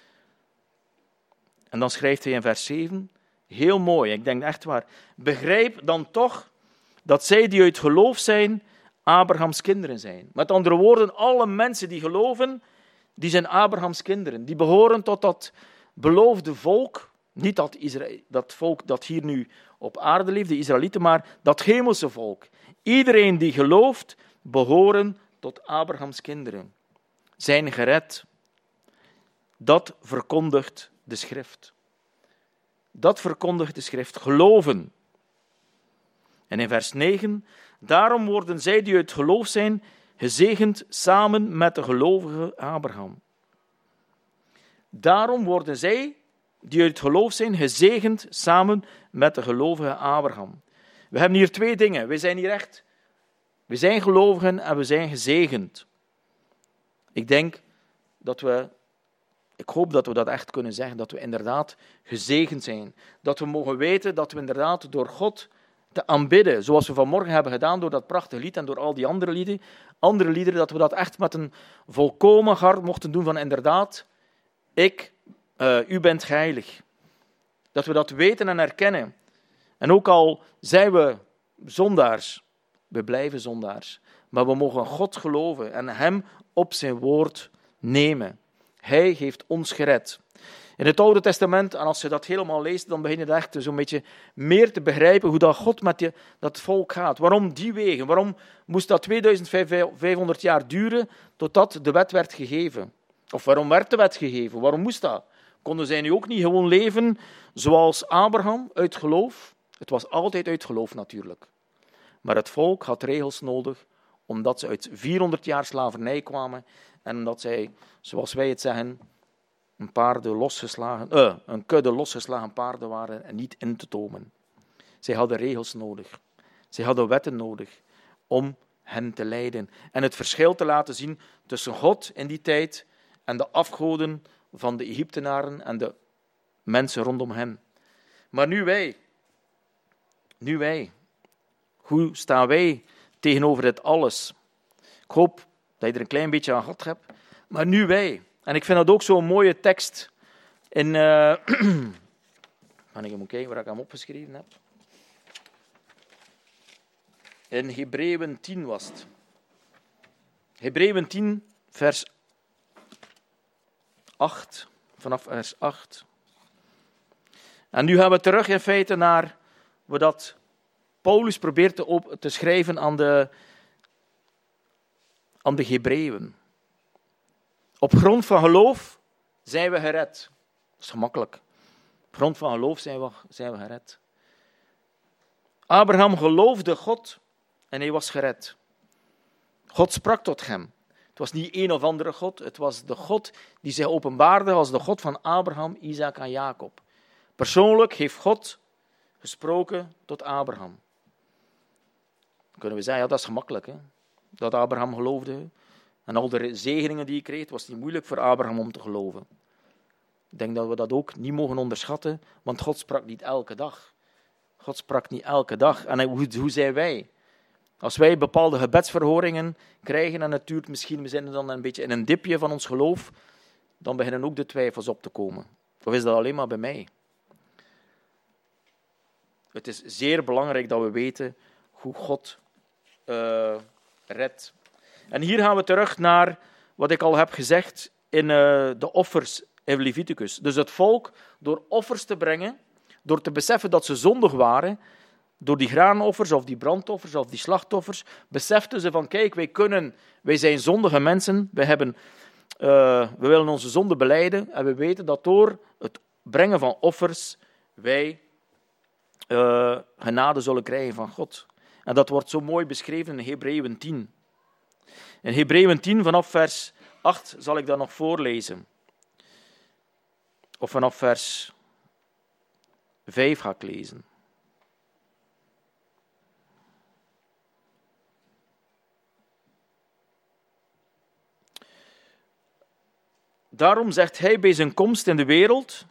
En dan schrijft hij in vers zeven, heel mooi, ik denk echt waar. Begrijp dan toch dat zij die uit geloof zijn, Abrahams kinderen zijn. Met andere woorden, alle mensen die geloven, die zijn Abrahams kinderen. Die behoren tot dat beloofde volk, niet dat, Israël, dat volk dat hier nu op aarde leeft, de Israëlieten, maar dat hemelse volk. Iedereen die gelooft, behoren tot Abrahams kinderen. Zijn gered. Dat verkondigt de schrift. Dat verkondigt de schrift. Geloven. En in vers negen, daarom worden zij die uit geloof zijn, gezegend samen met de gelovige Abraham. Daarom worden zij die uit geloof zijn, gezegend samen met de gelovige Abraham. We hebben hier twee dingen. We zijn hier echt, we zijn gelovigen en we zijn gezegend. Ik denk dat we, ik hoop dat we dat echt kunnen zeggen, dat we inderdaad gezegend zijn. Dat we mogen weten dat we inderdaad door God te aanbidden, zoals we vanmorgen hebben gedaan door dat prachtige lied en door al die andere lieden, andere liederen, dat we dat echt met een volkomen hart mochten doen van inderdaad, ik, uh, u bent heilig. Dat we dat weten en herkennen. En ook al zijn we zondaars, we blijven zondaars, maar we mogen God geloven en hem op zijn woord nemen. Hij heeft ons gered. In het Oude Testament, en als je dat helemaal leest, dan begin je echt zo'n beetje meer te begrijpen hoe dat God met je, dat volk gaat. Waarom die wegen? Waarom moest dat tweeduizend vijfhonderd jaar duren totdat de wet werd gegeven? Of waarom werd de wet gegeven? Waarom moest dat? Konden zij nu ook niet gewoon leven zoals Abraham, uit geloof? Het was altijd uit geloof natuurlijk. Maar het volk had regels nodig, omdat ze uit vierhonderd jaar slavernij kwamen en omdat zij, zoals wij het zeggen, een, paarden losgeslagen, uh, een kudde losgeslagen paarden waren en niet in te tomen. Zij hadden regels nodig. Zij hadden wetten nodig om hen te leiden. En het verschil te laten zien tussen God in die tijd en de afgoden van de Egyptenaren en de mensen rondom hen. Maar nu wij, nu wij, hoe staan wij tegenover dit alles? Ik hoop dat je er een klein beetje aan gehad hebt. Maar nu wij, en ik vind dat ook zo'n mooie tekst in, uh, kan ik even kijken waar ik hem opgeschreven heb. In Hebreeën tien was het. Hebreeën tien, vers acht. Vanaf vers acht. En nu gaan we terug in feite naar wat Paulus probeert te, op, te schrijven aan de, aan de Hebreeën. Op grond van geloof zijn we gered. Dat is gemakkelijk. Op grond van geloof zijn we, zijn we gered. Abraham geloofde God en hij was gered. God sprak tot hem. Het was niet een of andere God, het was de God die zich openbaarde als de God van Abraham, Isaac en Jacob. Persoonlijk heeft God gesproken tot Abraham. Dan kunnen we zeggen, ja, dat is gemakkelijk, hè? Dat Abraham geloofde. En al de zegeningen die hij kreeg, was niet moeilijk voor Abraham om te geloven. Ik denk dat we dat ook niet mogen onderschatten, want God sprak niet elke dag. God sprak niet elke dag. En hoe, hoe zijn wij? Als wij bepaalde gebedsverhoringen krijgen, en het duurt misschien, we zijn dan een beetje in een dipje van ons geloof, dan beginnen ook de twijfels op te komen. Of is dat alleen maar bij mij? Het is zeer belangrijk dat we weten hoe God uh, redt. En hier gaan we terug naar wat ik al heb gezegd in uh, de offers in Leviticus. Dus het volk, door offers te brengen, door te beseffen dat ze zondig waren, door die graanoffers of die brandoffers of die slachtoffers, beseften ze van, kijk, wij kunnen, wij zijn zondige mensen, wij hebben, uh, we willen onze zonde belijden en we weten dat door het brengen van offers wij uh, genade zullen krijgen van God. En dat wordt zo mooi beschreven in Hebreeën tien. In Hebreeën tien, vanaf vers acht, zal ik dat nog voorlezen. Of vanaf vers vijf ga ik lezen. Daarom zegt hij bij zijn komst in de wereld,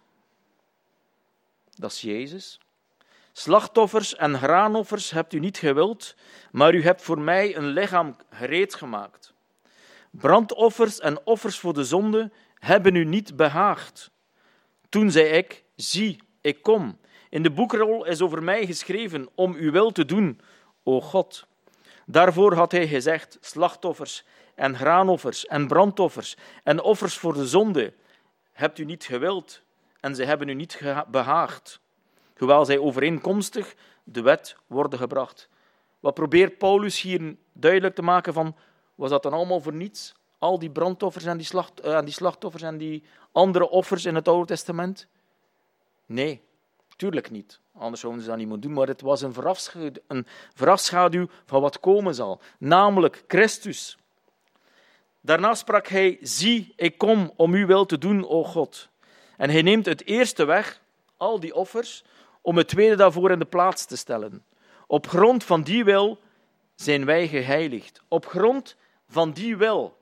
dat is Jezus, slachtoffers en graanoffers hebt u niet gewild, maar u hebt voor mij een lichaam gereed gemaakt. Brandoffers en offers voor de zonde hebben u niet behaagd. Toen zei ik, zie, ik kom. In de boekrol is over mij geschreven om uw wil te doen, o God. Daarvoor had hij gezegd, slachtoffers en graanoffers en brandoffers en offers voor de zonde hebt u niet gewild en ze hebben u niet behaagd, hoewel zij overeenkomstig de wet worden gebracht. Wat probeert Paulus hier duidelijk te maken van, was dat dan allemaal voor niets? Al die brandoffers en die, slacht, uh, die slachtoffers en die andere offers in het Oude Testament? Nee, tuurlijk niet. Anders zouden ze dat niet moeten doen, maar het was een voorafschaduw, een voorafschaduw van wat komen zal, namelijk Christus. Daarna sprak hij, zie, ik kom om uw wil te doen, o God. En hij neemt het eerste weg, al die offers, om het tweede daarvoor in de plaats te stellen. Op grond van die wil zijn wij geheiligd. Op grond van die wil.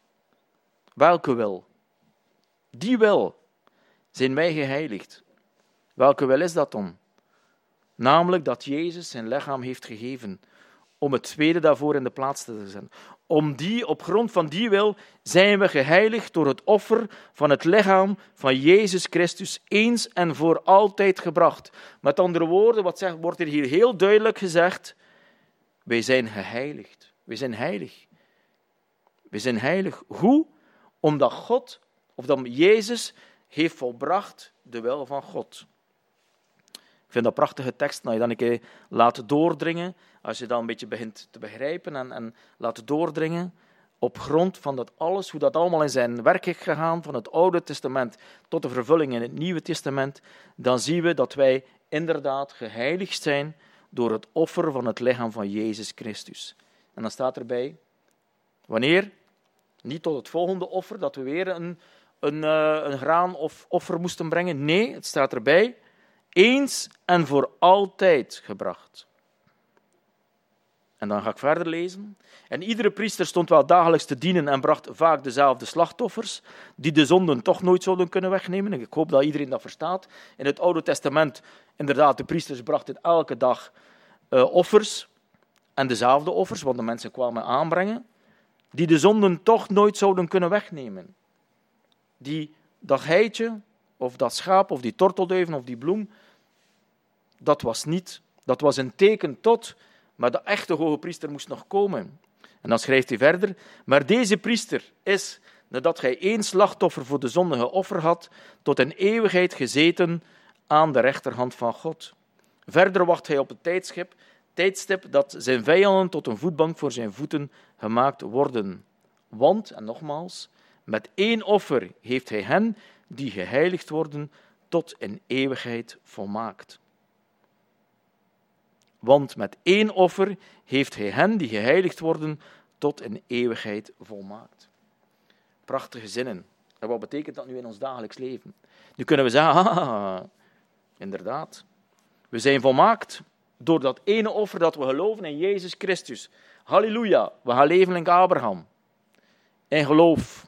Welke wil? Die wil zijn wij geheiligd. Welke wil is dat dan? Namelijk dat Jezus zijn lichaam heeft gegeven om het tweede daarvoor in de plaats te zetten. Om die, op grond van die wil zijn we geheiligd door het offer van het lichaam van Jezus Christus eens en voor altijd gebracht. Met andere woorden, wat zegt, wordt er hier heel duidelijk gezegd, wij zijn geheiligd. Wij zijn heilig. Wij zijn heilig. Hoe? Omdat God, of dat Jezus, heeft volbracht de wil van God. Ik vind dat een prachtige tekst, als je dan een keer laat doordringen, als je dan een beetje begint te begrijpen en, en laat doordringen, op grond van dat alles, hoe dat allemaal in zijn werk is gegaan, van het Oude Testament tot de vervulling in het Nieuwe Testament, dan zien we dat wij inderdaad geheiligd zijn door het offer van het lichaam van Jezus Christus. En dan staat erbij, wanneer? Niet tot het volgende offer, dat we weer een, een, een graan of offer moesten brengen. Nee, het staat erbij, eens en voor altijd gebracht. En dan ga ik verder lezen. En iedere priester stond wel dagelijks te dienen en bracht vaak dezelfde slachtoffers, die de zonden toch nooit zouden kunnen wegnemen. Ik hoop dat iedereen dat verstaat. In het Oude Testament, inderdaad, de priesters brachten elke dag uh, offers. En dezelfde offers, want de mensen kwamen aanbrengen, die de zonden toch nooit zouden kunnen wegnemen. Die, dat geitje, of dat schaap, of die tortelduiven, of die bloem, dat was niet, dat was een teken tot, maar de echte hoge priester moest nog komen. En dan schrijft hij verder, maar deze priester is, nadat gij één slachtoffer voor de zonde geofferd had, tot een eeuwigheid gezeten aan de rechterhand van God. Verder wacht hij op het tijdstip, tijdstip dat zijn vijanden tot een voetbank voor zijn voeten gemaakt worden. Want, en nogmaals, met één offer heeft hij hen die geheiligd worden tot een eeuwigheid volmaakt. Want met één offer heeft hij hen die geheiligd worden tot een eeuwigheid volmaakt. Prachtige zinnen. En wat betekent dat nu in ons dagelijks leven? Nu kunnen we zeggen, ah, inderdaad, we zijn volmaakt door dat ene offer dat we geloven in Jezus Christus. Halleluja, we gaan leven in Abraham. In geloof.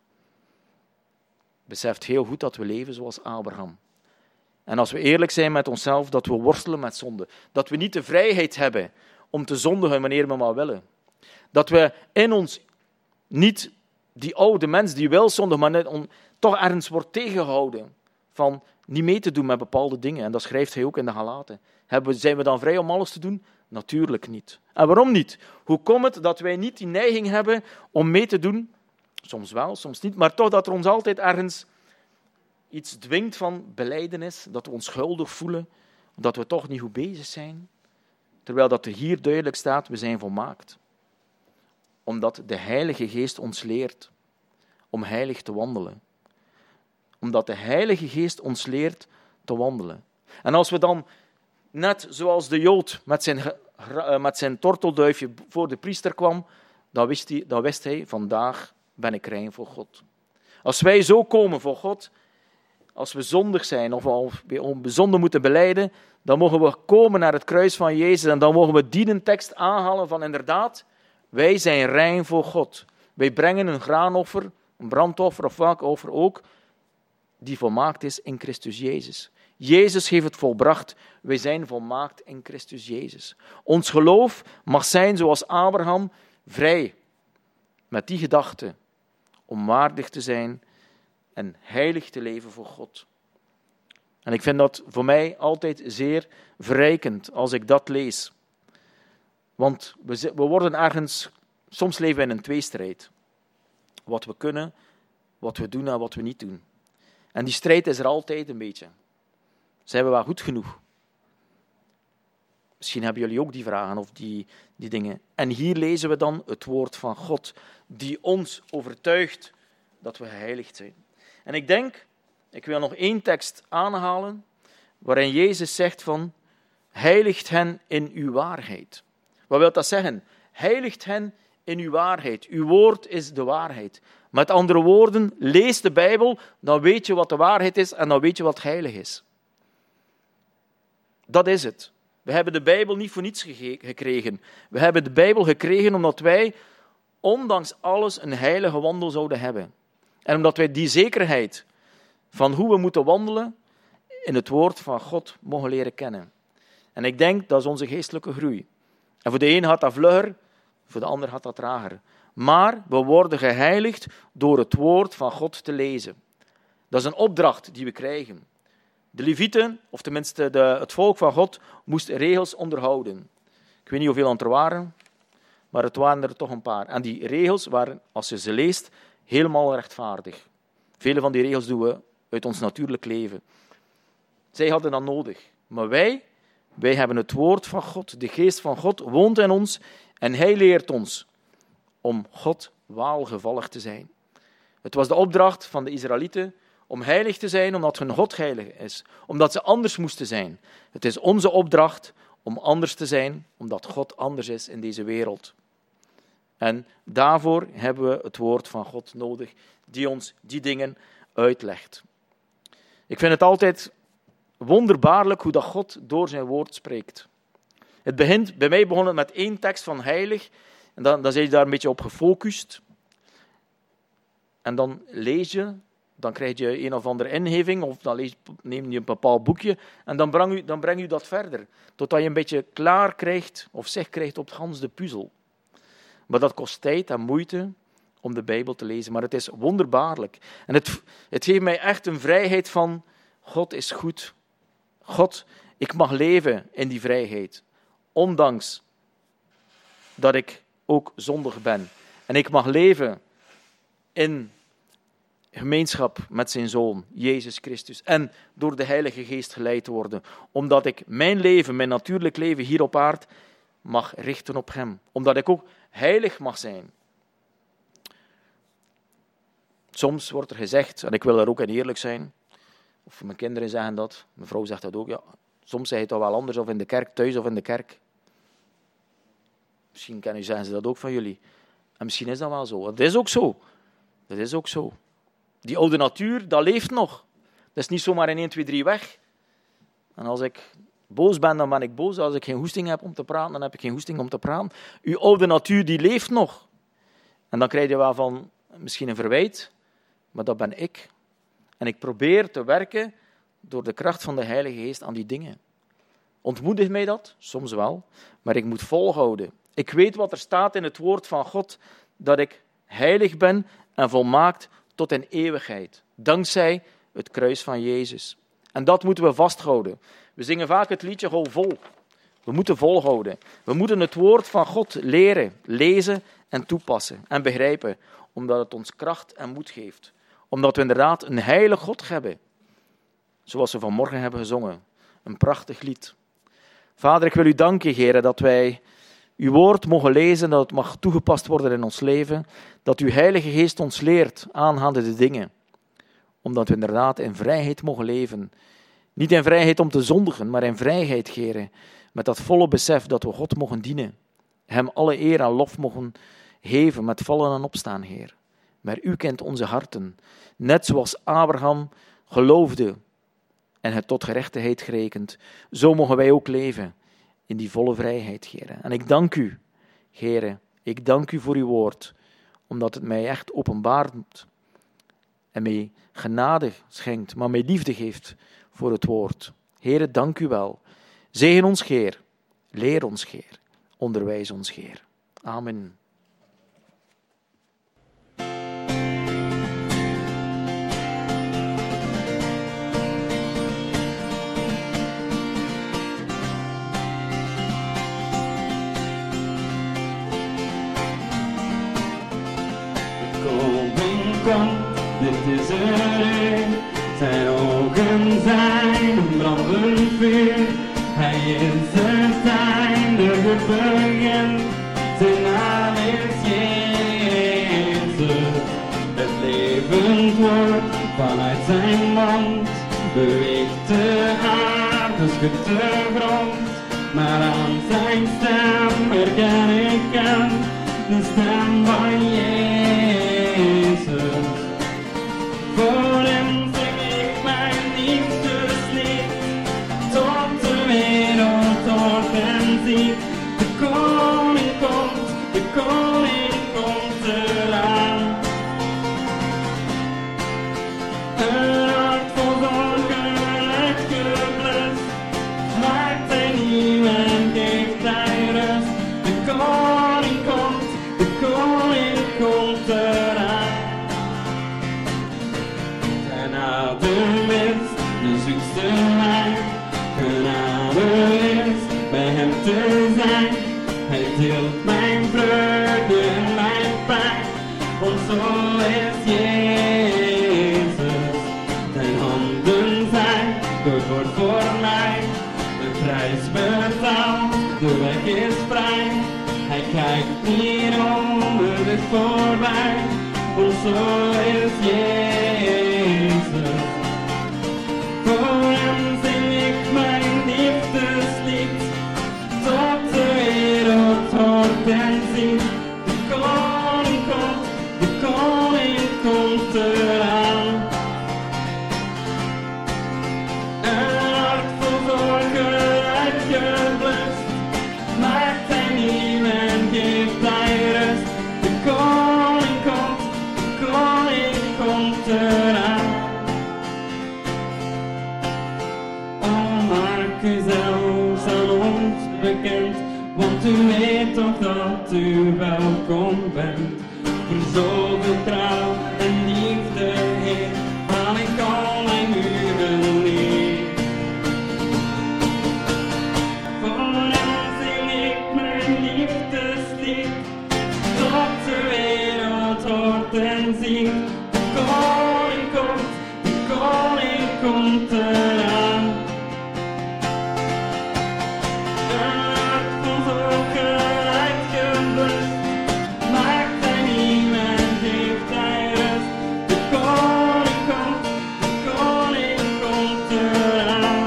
Beseft heel goed dat we leven zoals Abraham. En als we eerlijk zijn met onszelf, dat we worstelen met zonde. Dat we niet de vrijheid hebben om te zondigen wanneer we maar willen. Dat we in ons niet die oude mens die wil zondigen, maar net on, toch ergens wordt tegengehouden van niet mee te doen met bepaalde dingen. En dat schrijft hij ook in de Galaten. Zijn we dan vrij om alles te doen? Natuurlijk niet. En waarom niet? Hoe komt het dat wij niet die neiging hebben om mee te doen? Soms wel, soms niet. Maar toch dat er ons altijd ergens iets dwingt van belijdenis, dat we ons schuldig voelen, dat we toch niet goed bezig zijn. Terwijl dat er hier duidelijk staat, we zijn volmaakt. Omdat de Heilige Geest ons leert om heilig te wandelen. Omdat de Heilige Geest ons leert te wandelen. En als we dan, net zoals de Jood met zijn, met zijn tortelduifje voor de priester kwam, dan wist hij, dan wist hij, vandaag ben ik rein voor God. Als wij zo komen voor God, als we zondig zijn of we zonde moeten belijden, dan mogen we komen naar het kruis van Jezus en dan mogen we die tekst aanhalen van inderdaad, wij zijn rein voor God. Wij brengen een graanoffer, een brandoffer of welk offer ook, die volmaakt is in Christus Jezus. Jezus heeft het volbracht. Wij zijn volmaakt in Christus Jezus. Ons geloof mag zijn zoals Abraham, vrij. Met die gedachte om waardig te zijn en heilig te leven voor God. En ik vind dat voor mij altijd zeer verrijkend als ik dat lees. Want we, we worden ergens, soms leven we in een tweestrijd. Wat we kunnen, wat we doen en wat we niet doen. En die strijd is er altijd een beetje. Zijn we wel goed genoeg? Misschien hebben jullie ook die vragen of die, die dingen. En hier lezen we dan het woord van God, die ons overtuigt dat we geheiligd zijn. En ik denk, ik wil nog één tekst aanhalen, waarin Jezus zegt van, heiligt hen in uw waarheid. Wat wil dat zeggen? Heiligt hen in uw waarheid. Uw woord is de waarheid. Met andere woorden, lees de Bijbel, dan weet je wat de waarheid is en dan weet je wat heilig is. Dat is het. We hebben de Bijbel niet voor niets gege- gekregen. We hebben de Bijbel gekregen omdat wij, ondanks alles, een heilige wandel zouden hebben. En omdat wij die zekerheid van hoe we moeten wandelen in het woord van God mogen leren kennen. En ik denk, dat is onze geestelijke groei. En voor de een gaat dat vlugger, voor de ander gaat dat trager. Maar we worden geheiligd door het woord van God te lezen. Dat is een opdracht die we krijgen. De Levieten, of tenminste de, het volk van God, moest regels onderhouden. Ik weet niet hoeveel er waren, maar het waren er toch een paar. En die regels waren, als je ze leest, helemaal rechtvaardig. Vele van die regels doen we uit ons natuurlijk leven. Zij hadden dat nodig. Maar wij, wij hebben het woord van God, de geest van God woont in ons en hij leert ons om God welgevallig te zijn. Het was de opdracht van de Israëlieten om heilig te zijn, omdat hun God heilig is. Omdat ze anders moesten zijn. Het is onze opdracht om anders te zijn, omdat God anders is in deze wereld. En daarvoor hebben we het woord van God nodig, die ons die dingen uitlegt. Ik vind het altijd wonderbaarlijk hoe dat God door zijn woord spreekt. Het begint, bij mij begon het met één tekst van heilig, en dan, dan zijn je daar een beetje op gefocust. En dan lees je, dan krijg je een of andere ingeving, of dan lees, neem je een bepaald boekje, en dan breng je, dan breng je dat verder. Totdat je een beetje klaar krijgt, of zicht krijgt op het gans de puzzel. Maar dat kost tijd en moeite om de Bijbel te lezen. Maar het is wonderbaarlijk. En het, het geeft mij echt een vrijheid van, God is goed. God, ik mag leven in die vrijheid. Ondanks dat ik ook zondig ben. En ik mag leven in gemeenschap met zijn Zoon, Jezus Christus. En door de Heilige Geest geleid te worden. Omdat ik mijn leven, mijn natuurlijk leven hier op aarde, mag richten op hem. Omdat ik ook heilig mag zijn. Soms wordt er gezegd, en ik wil er ook in eerlijk zijn, of mijn kinderen zeggen dat, mijn vrouw zegt dat ook, ja, soms zeg je het toch wel anders, of in de kerk, thuis of in de kerk. Misschien kennen, zeggen ze dat ook van jullie. En misschien is dat wel zo. Het is ook zo. Dat is ook zo. Die oude natuur, dat leeft nog. Dat is niet zomaar in één, twee, drie weg. En als ik boos ben, dan ben ik boos. Als ik geen hoesting heb om te praten, dan heb ik geen hoesting om te praten. Uw oude natuur, die leeft nog. En dan krijg je wel van, misschien een verwijt, maar dat ben ik. En ik probeer te werken door de kracht van de Heilige Geest aan die dingen. Ontmoedigt mij dat? Soms wel. Maar ik moet volhouden. Ik weet wat er staat in het woord van God, dat ik heilig ben en volmaakt tot in eeuwigheid. Dankzij het kruis van Jezus. En dat moeten we vasthouden. We zingen vaak het liedje Hou vol. We moeten volhouden. We moeten het woord van God leren, lezen en toepassen en begrijpen. Omdat het ons kracht en moed geeft. Omdat we inderdaad een heilig God hebben. Zoals we vanmorgen hebben gezongen. Een prachtig lied. Vader, ik wil u danken, Heer, dat wij uw woord mogen lezen, dat het mag toegepast worden in ons leven. Dat uw Heilige Geest ons leert aangaande de dingen. Omdat we inderdaad in vrijheid mogen leven. Niet in vrijheid om te zondigen, maar in vrijheid, Heer. Met dat volle besef dat we God mogen dienen. Hem alle eer en lof mogen geven met vallen en opstaan, Heer. Maar u kent onze harten. Net zoals Abraham geloofde en het tot gerechtigheid gerekend. Zo mogen wij ook leven in die volle vrijheid, Heer. En ik dank u, Heer. Ik dank u voor uw woord. Omdat het mij echt openbaart. En mij genade schenkt, maar mij liefde geeft voor het woord. Heer, dank u wel. Zegen ons, Heer. Leer ons, Heer. Onderwijs ons, Heer. Amen. Komt, dit is er, zijn ogen zijn een brandend vuur. Hij is het einde, het begin, zijn naam is Jezus. Het levend woord vanuit zijn mond beweegt de aarde, schudt de grond. Maar aan zijn stem herken ik hem, de stem van Jezus. Voor hem zing ik mijn liefdeslied, tot de wereld hoort en ziet. De koning komt, de koning komt eraan. Een hart vol zorgen uitgeblust, maakt hij nieuw en geeft hij rust. De koning komt, de koning komt eraan. Zijn adem is de zoetste wijn, genade is bij hem te zijn. Hij deelt mijn vreugde en mijn pijn, want zo is Jezus. Zijn handen zijn gevoerd voor mij, de prijs betaald, de weg is vrij. Hij kijkt niet onder de voorbij, want zo is Jezus. Voor hem zing ik mijn liefdeslied, tot de wereld hoort en ziet. De koning komt, de koning komt eraan. Een hart vol zorgen uitgeblust, maakt hij nieuw en geeft hij rust. De koning komt, de koning komt eraan. Oh, maak u zelfs aan ons bekend, want u weet toch dat u welkom bent. Voor zoveel trouw en liefde, Heer, haal ik al mijn muren neer. Voor hem zing ik mijn liefdeslied, tot de wereld hoort en ziet. De koning komt, de koning komt eraan. Een hart vol zorgen uitgeblust, maakt hij nieuw en geeft hij rust. De koning komt, de koning komt eraan.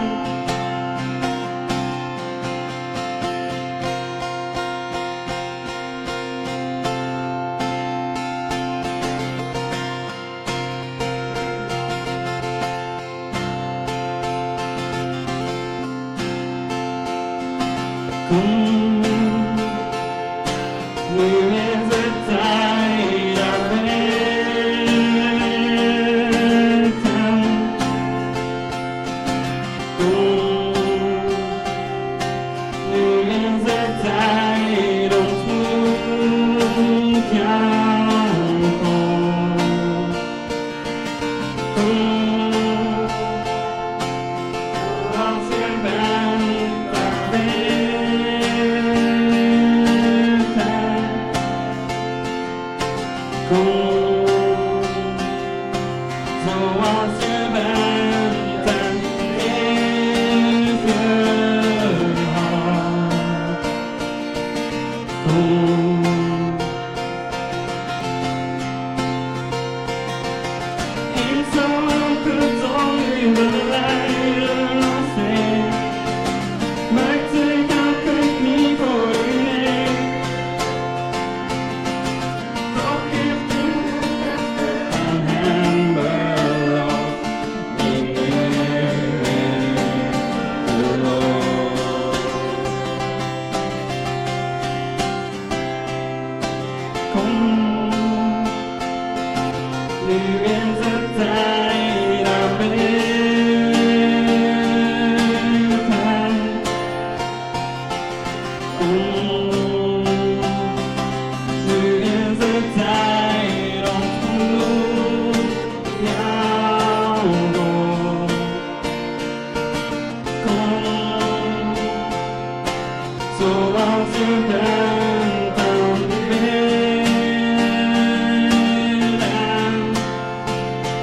Kom, nu is het tijd daar weten. Kom, nu is het tijd ontmoet jou. Kom, als je bent daar weten. Kom, zoals je bent en geef je hart. Kom, ik zal elke dag u beleiden als Heer. Maakt ik elke knie voor u neer. Toch geeft u aan hem beloofd, in u geloof. Kom, nu is het tijd aan weten. Kom, nu is het tijd ontmoet jou. Kom, zoals je bent aan bidden.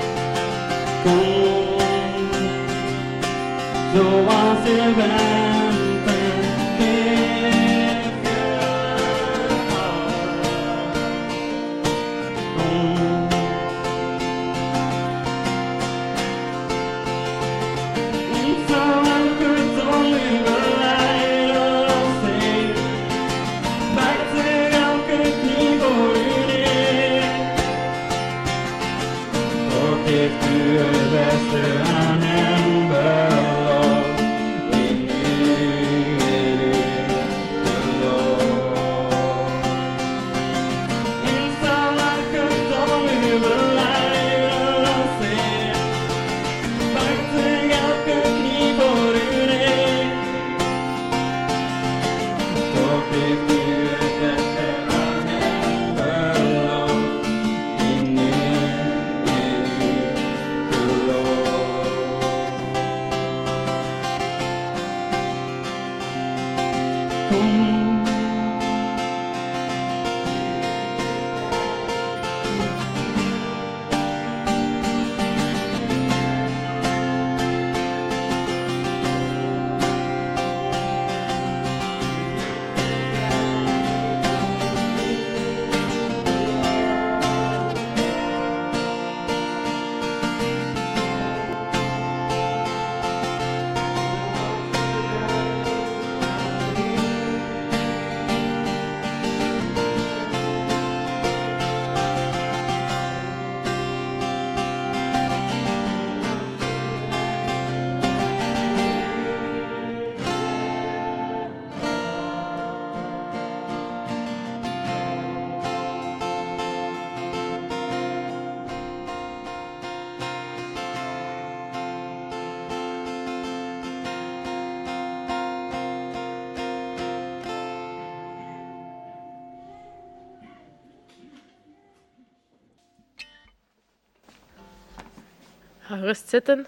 Ga gerust zitten.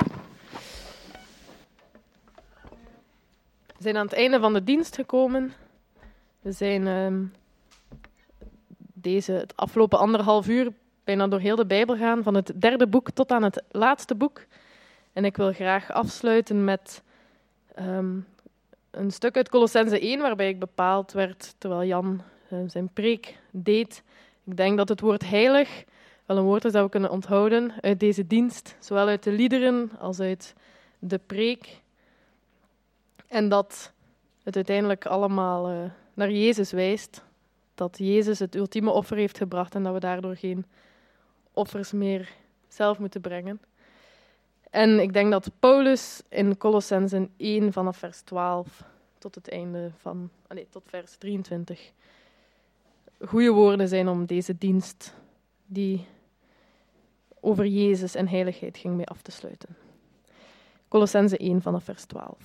We zijn aan het einde van de dienst gekomen. We zijn um, deze, het afgelopen anderhalf uur bijna door heel de Bijbel gaan, van het derde boek tot aan het laatste boek. En ik wil graag afsluiten met um, een stuk uit Kolossenzen één, waarbij ik bepaald werd, terwijl Jan uh, zijn preek deed. Ik denk dat het woord heilig wel een woord is dat we kunnen onthouden uit deze dienst, zowel uit de liederen als uit de preek. En dat het uiteindelijk allemaal uh, naar Jezus wijst. Dat Jezus het ultieme offer heeft gebracht en dat we daardoor geen offers meer zelf moeten brengen. En ik denk dat Paulus in Kolossenzen één vanaf vers twaalf tot het einde van, nee, tot vers drieëntwintig goede woorden zijn om deze dienst die over Jezus en heiligheid ging mee af te sluiten. Kolossenzen één vanaf vers twaalf.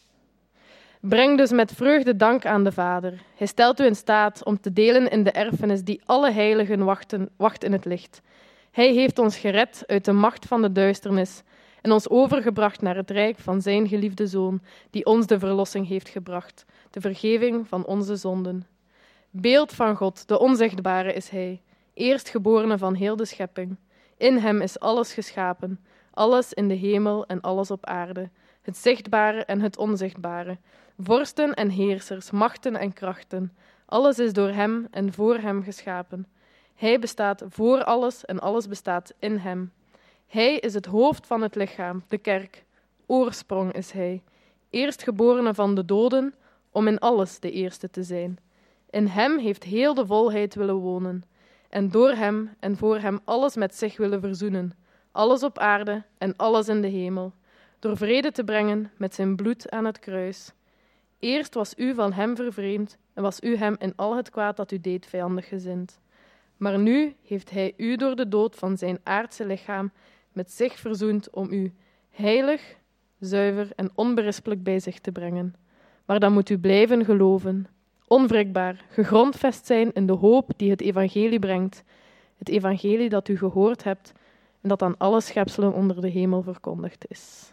Breng dus met vreugde dank aan de Vader. Hij stelt u in staat om te delen in de erfenis die alle heiligen wachten, wacht in het licht. Hij heeft ons gered uit de macht van de duisternis en ons overgebracht naar het rijk van zijn geliefde Zoon, die ons de verlossing heeft gebracht, de vergeving van onze zonden. Beeld van God, de onzichtbare is hij, eerstgeborene van heel de schepping. In hem is alles geschapen, alles in de hemel en alles op aarde, het zichtbare en het onzichtbare, vorsten en heersers, machten en krachten. Alles is door hem en voor hem geschapen. Hij bestaat voor alles en alles bestaat in hem. Hij is het hoofd van het lichaam, de kerk. Oorsprong is hij, eerstgeborene van de doden, om in alles de eerste te zijn. In hem heeft heel de volheid willen wonen, en door hem en voor hem alles met zich willen verzoenen, alles op aarde en alles in de hemel, door vrede te brengen met zijn bloed aan het kruis. Eerst was u van hem vervreemd en was u hem in al het kwaad dat u deed vijandig gezind. Maar nu heeft hij u door de dood van zijn aardse lichaam met zich verzoend om u heilig, zuiver en onberispelijk bij zich te brengen. Maar dan moet u blijven geloven, onwrikbaar, gegrondvest zijn in de hoop die het evangelie brengt, het evangelie dat u gehoord hebt en dat aan alle schepselen onder de hemel verkondigd is.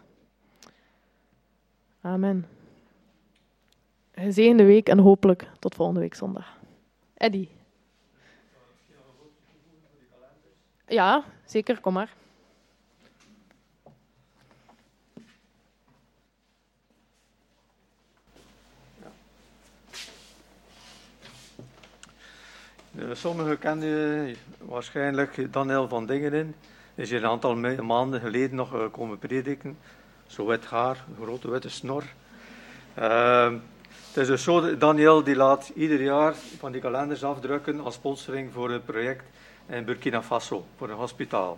Amen. Gezegende week en hopelijk tot volgende week zondag. Eddie. Ja, zeker, kom maar. Sommigen kennen waarschijnlijk Daniel van Dingenen. Hij is hier een aantal maanden geleden nog komen prediken. Zo wit haar, een grote witte snor. Uh, het is dus zo, Daniel die laat ieder jaar van die kalenders afdrukken als sponsoring voor het project in Burkina Faso, voor een hospitaal.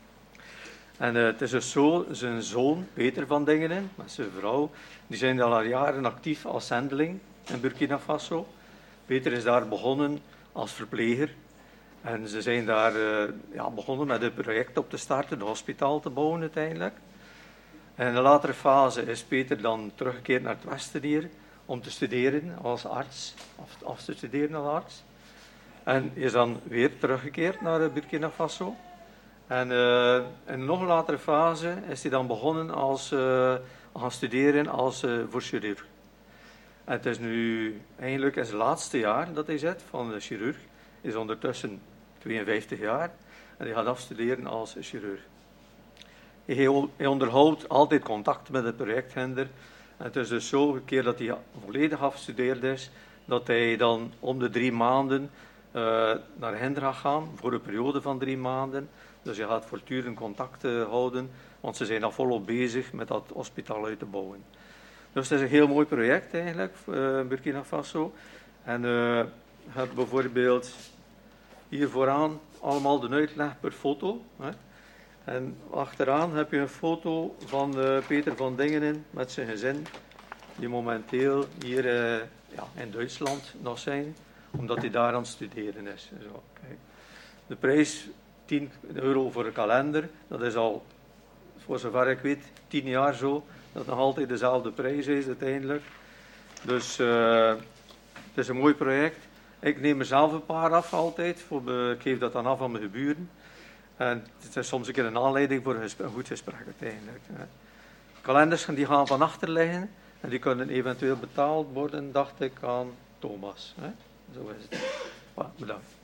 En uh, het is dus zo, zijn zoon, Peter van Dingenen, met zijn vrouw, die zijn al jaren actief als zendeling in Burkina Faso. Peter is daar begonnen als verpleger. En ze zijn daar uh, ja, begonnen met het project op te starten, een hospitaal te bouwen uiteindelijk. En in de latere fase is Peter dan teruggekeerd naar het Westen hier, om te studeren als arts, of af te studeren als arts. En is dan weer teruggekeerd naar Burkina Faso. En uh, in een nog latere fase is hij dan begonnen als, uh, gaan studeren als, uh, voor chirurg. En het is nu eigenlijk in zijn laatste jaar dat hij zit van de chirurg. Hij is ondertussen tweeënvijftig jaar en hij gaat afstuderen als chirurg. Hij onderhoudt altijd contact met het projectgender. En het is dus zo, een keer dat hij volledig afgestudeerd is, dat hij dan om de drie maanden uh, naar hen gaat gaan, voor een periode van drie maanden. Dus hij gaat voortdurend contact uh, houden, want ze zijn al volop bezig met dat hospitaal uit te bouwen. Dus het is een heel mooi project eigenlijk, uh, Burkina Faso. En uh, je hebt bijvoorbeeld hier vooraan allemaal de uitleg per foto. Hè. En achteraan heb je een foto van uh, Peter van Dingenen met zijn gezin, die momenteel hier uh, ja, in Duitsland nog zijn, omdat hij daar aan het studeren is. Zo, kijk. De prijs, tien euro voor een kalender, dat is al, voor zover ik weet, tien jaar zo, dat nog altijd dezelfde prijs is uiteindelijk. Dus uh, het is een mooi project. Ik neem er zelf een paar af altijd, voor, ik geef dat dan af aan mijn buren. En het is soms een keer een aanleiding voor een, gesprek, een goed gesprek uiteindelijk. Hè. Kalenders die gaan van achter liggen en die kunnen eventueel betaald worden, dacht ik, aan Thomas. Hè. Zo is het. Voilà, bedankt.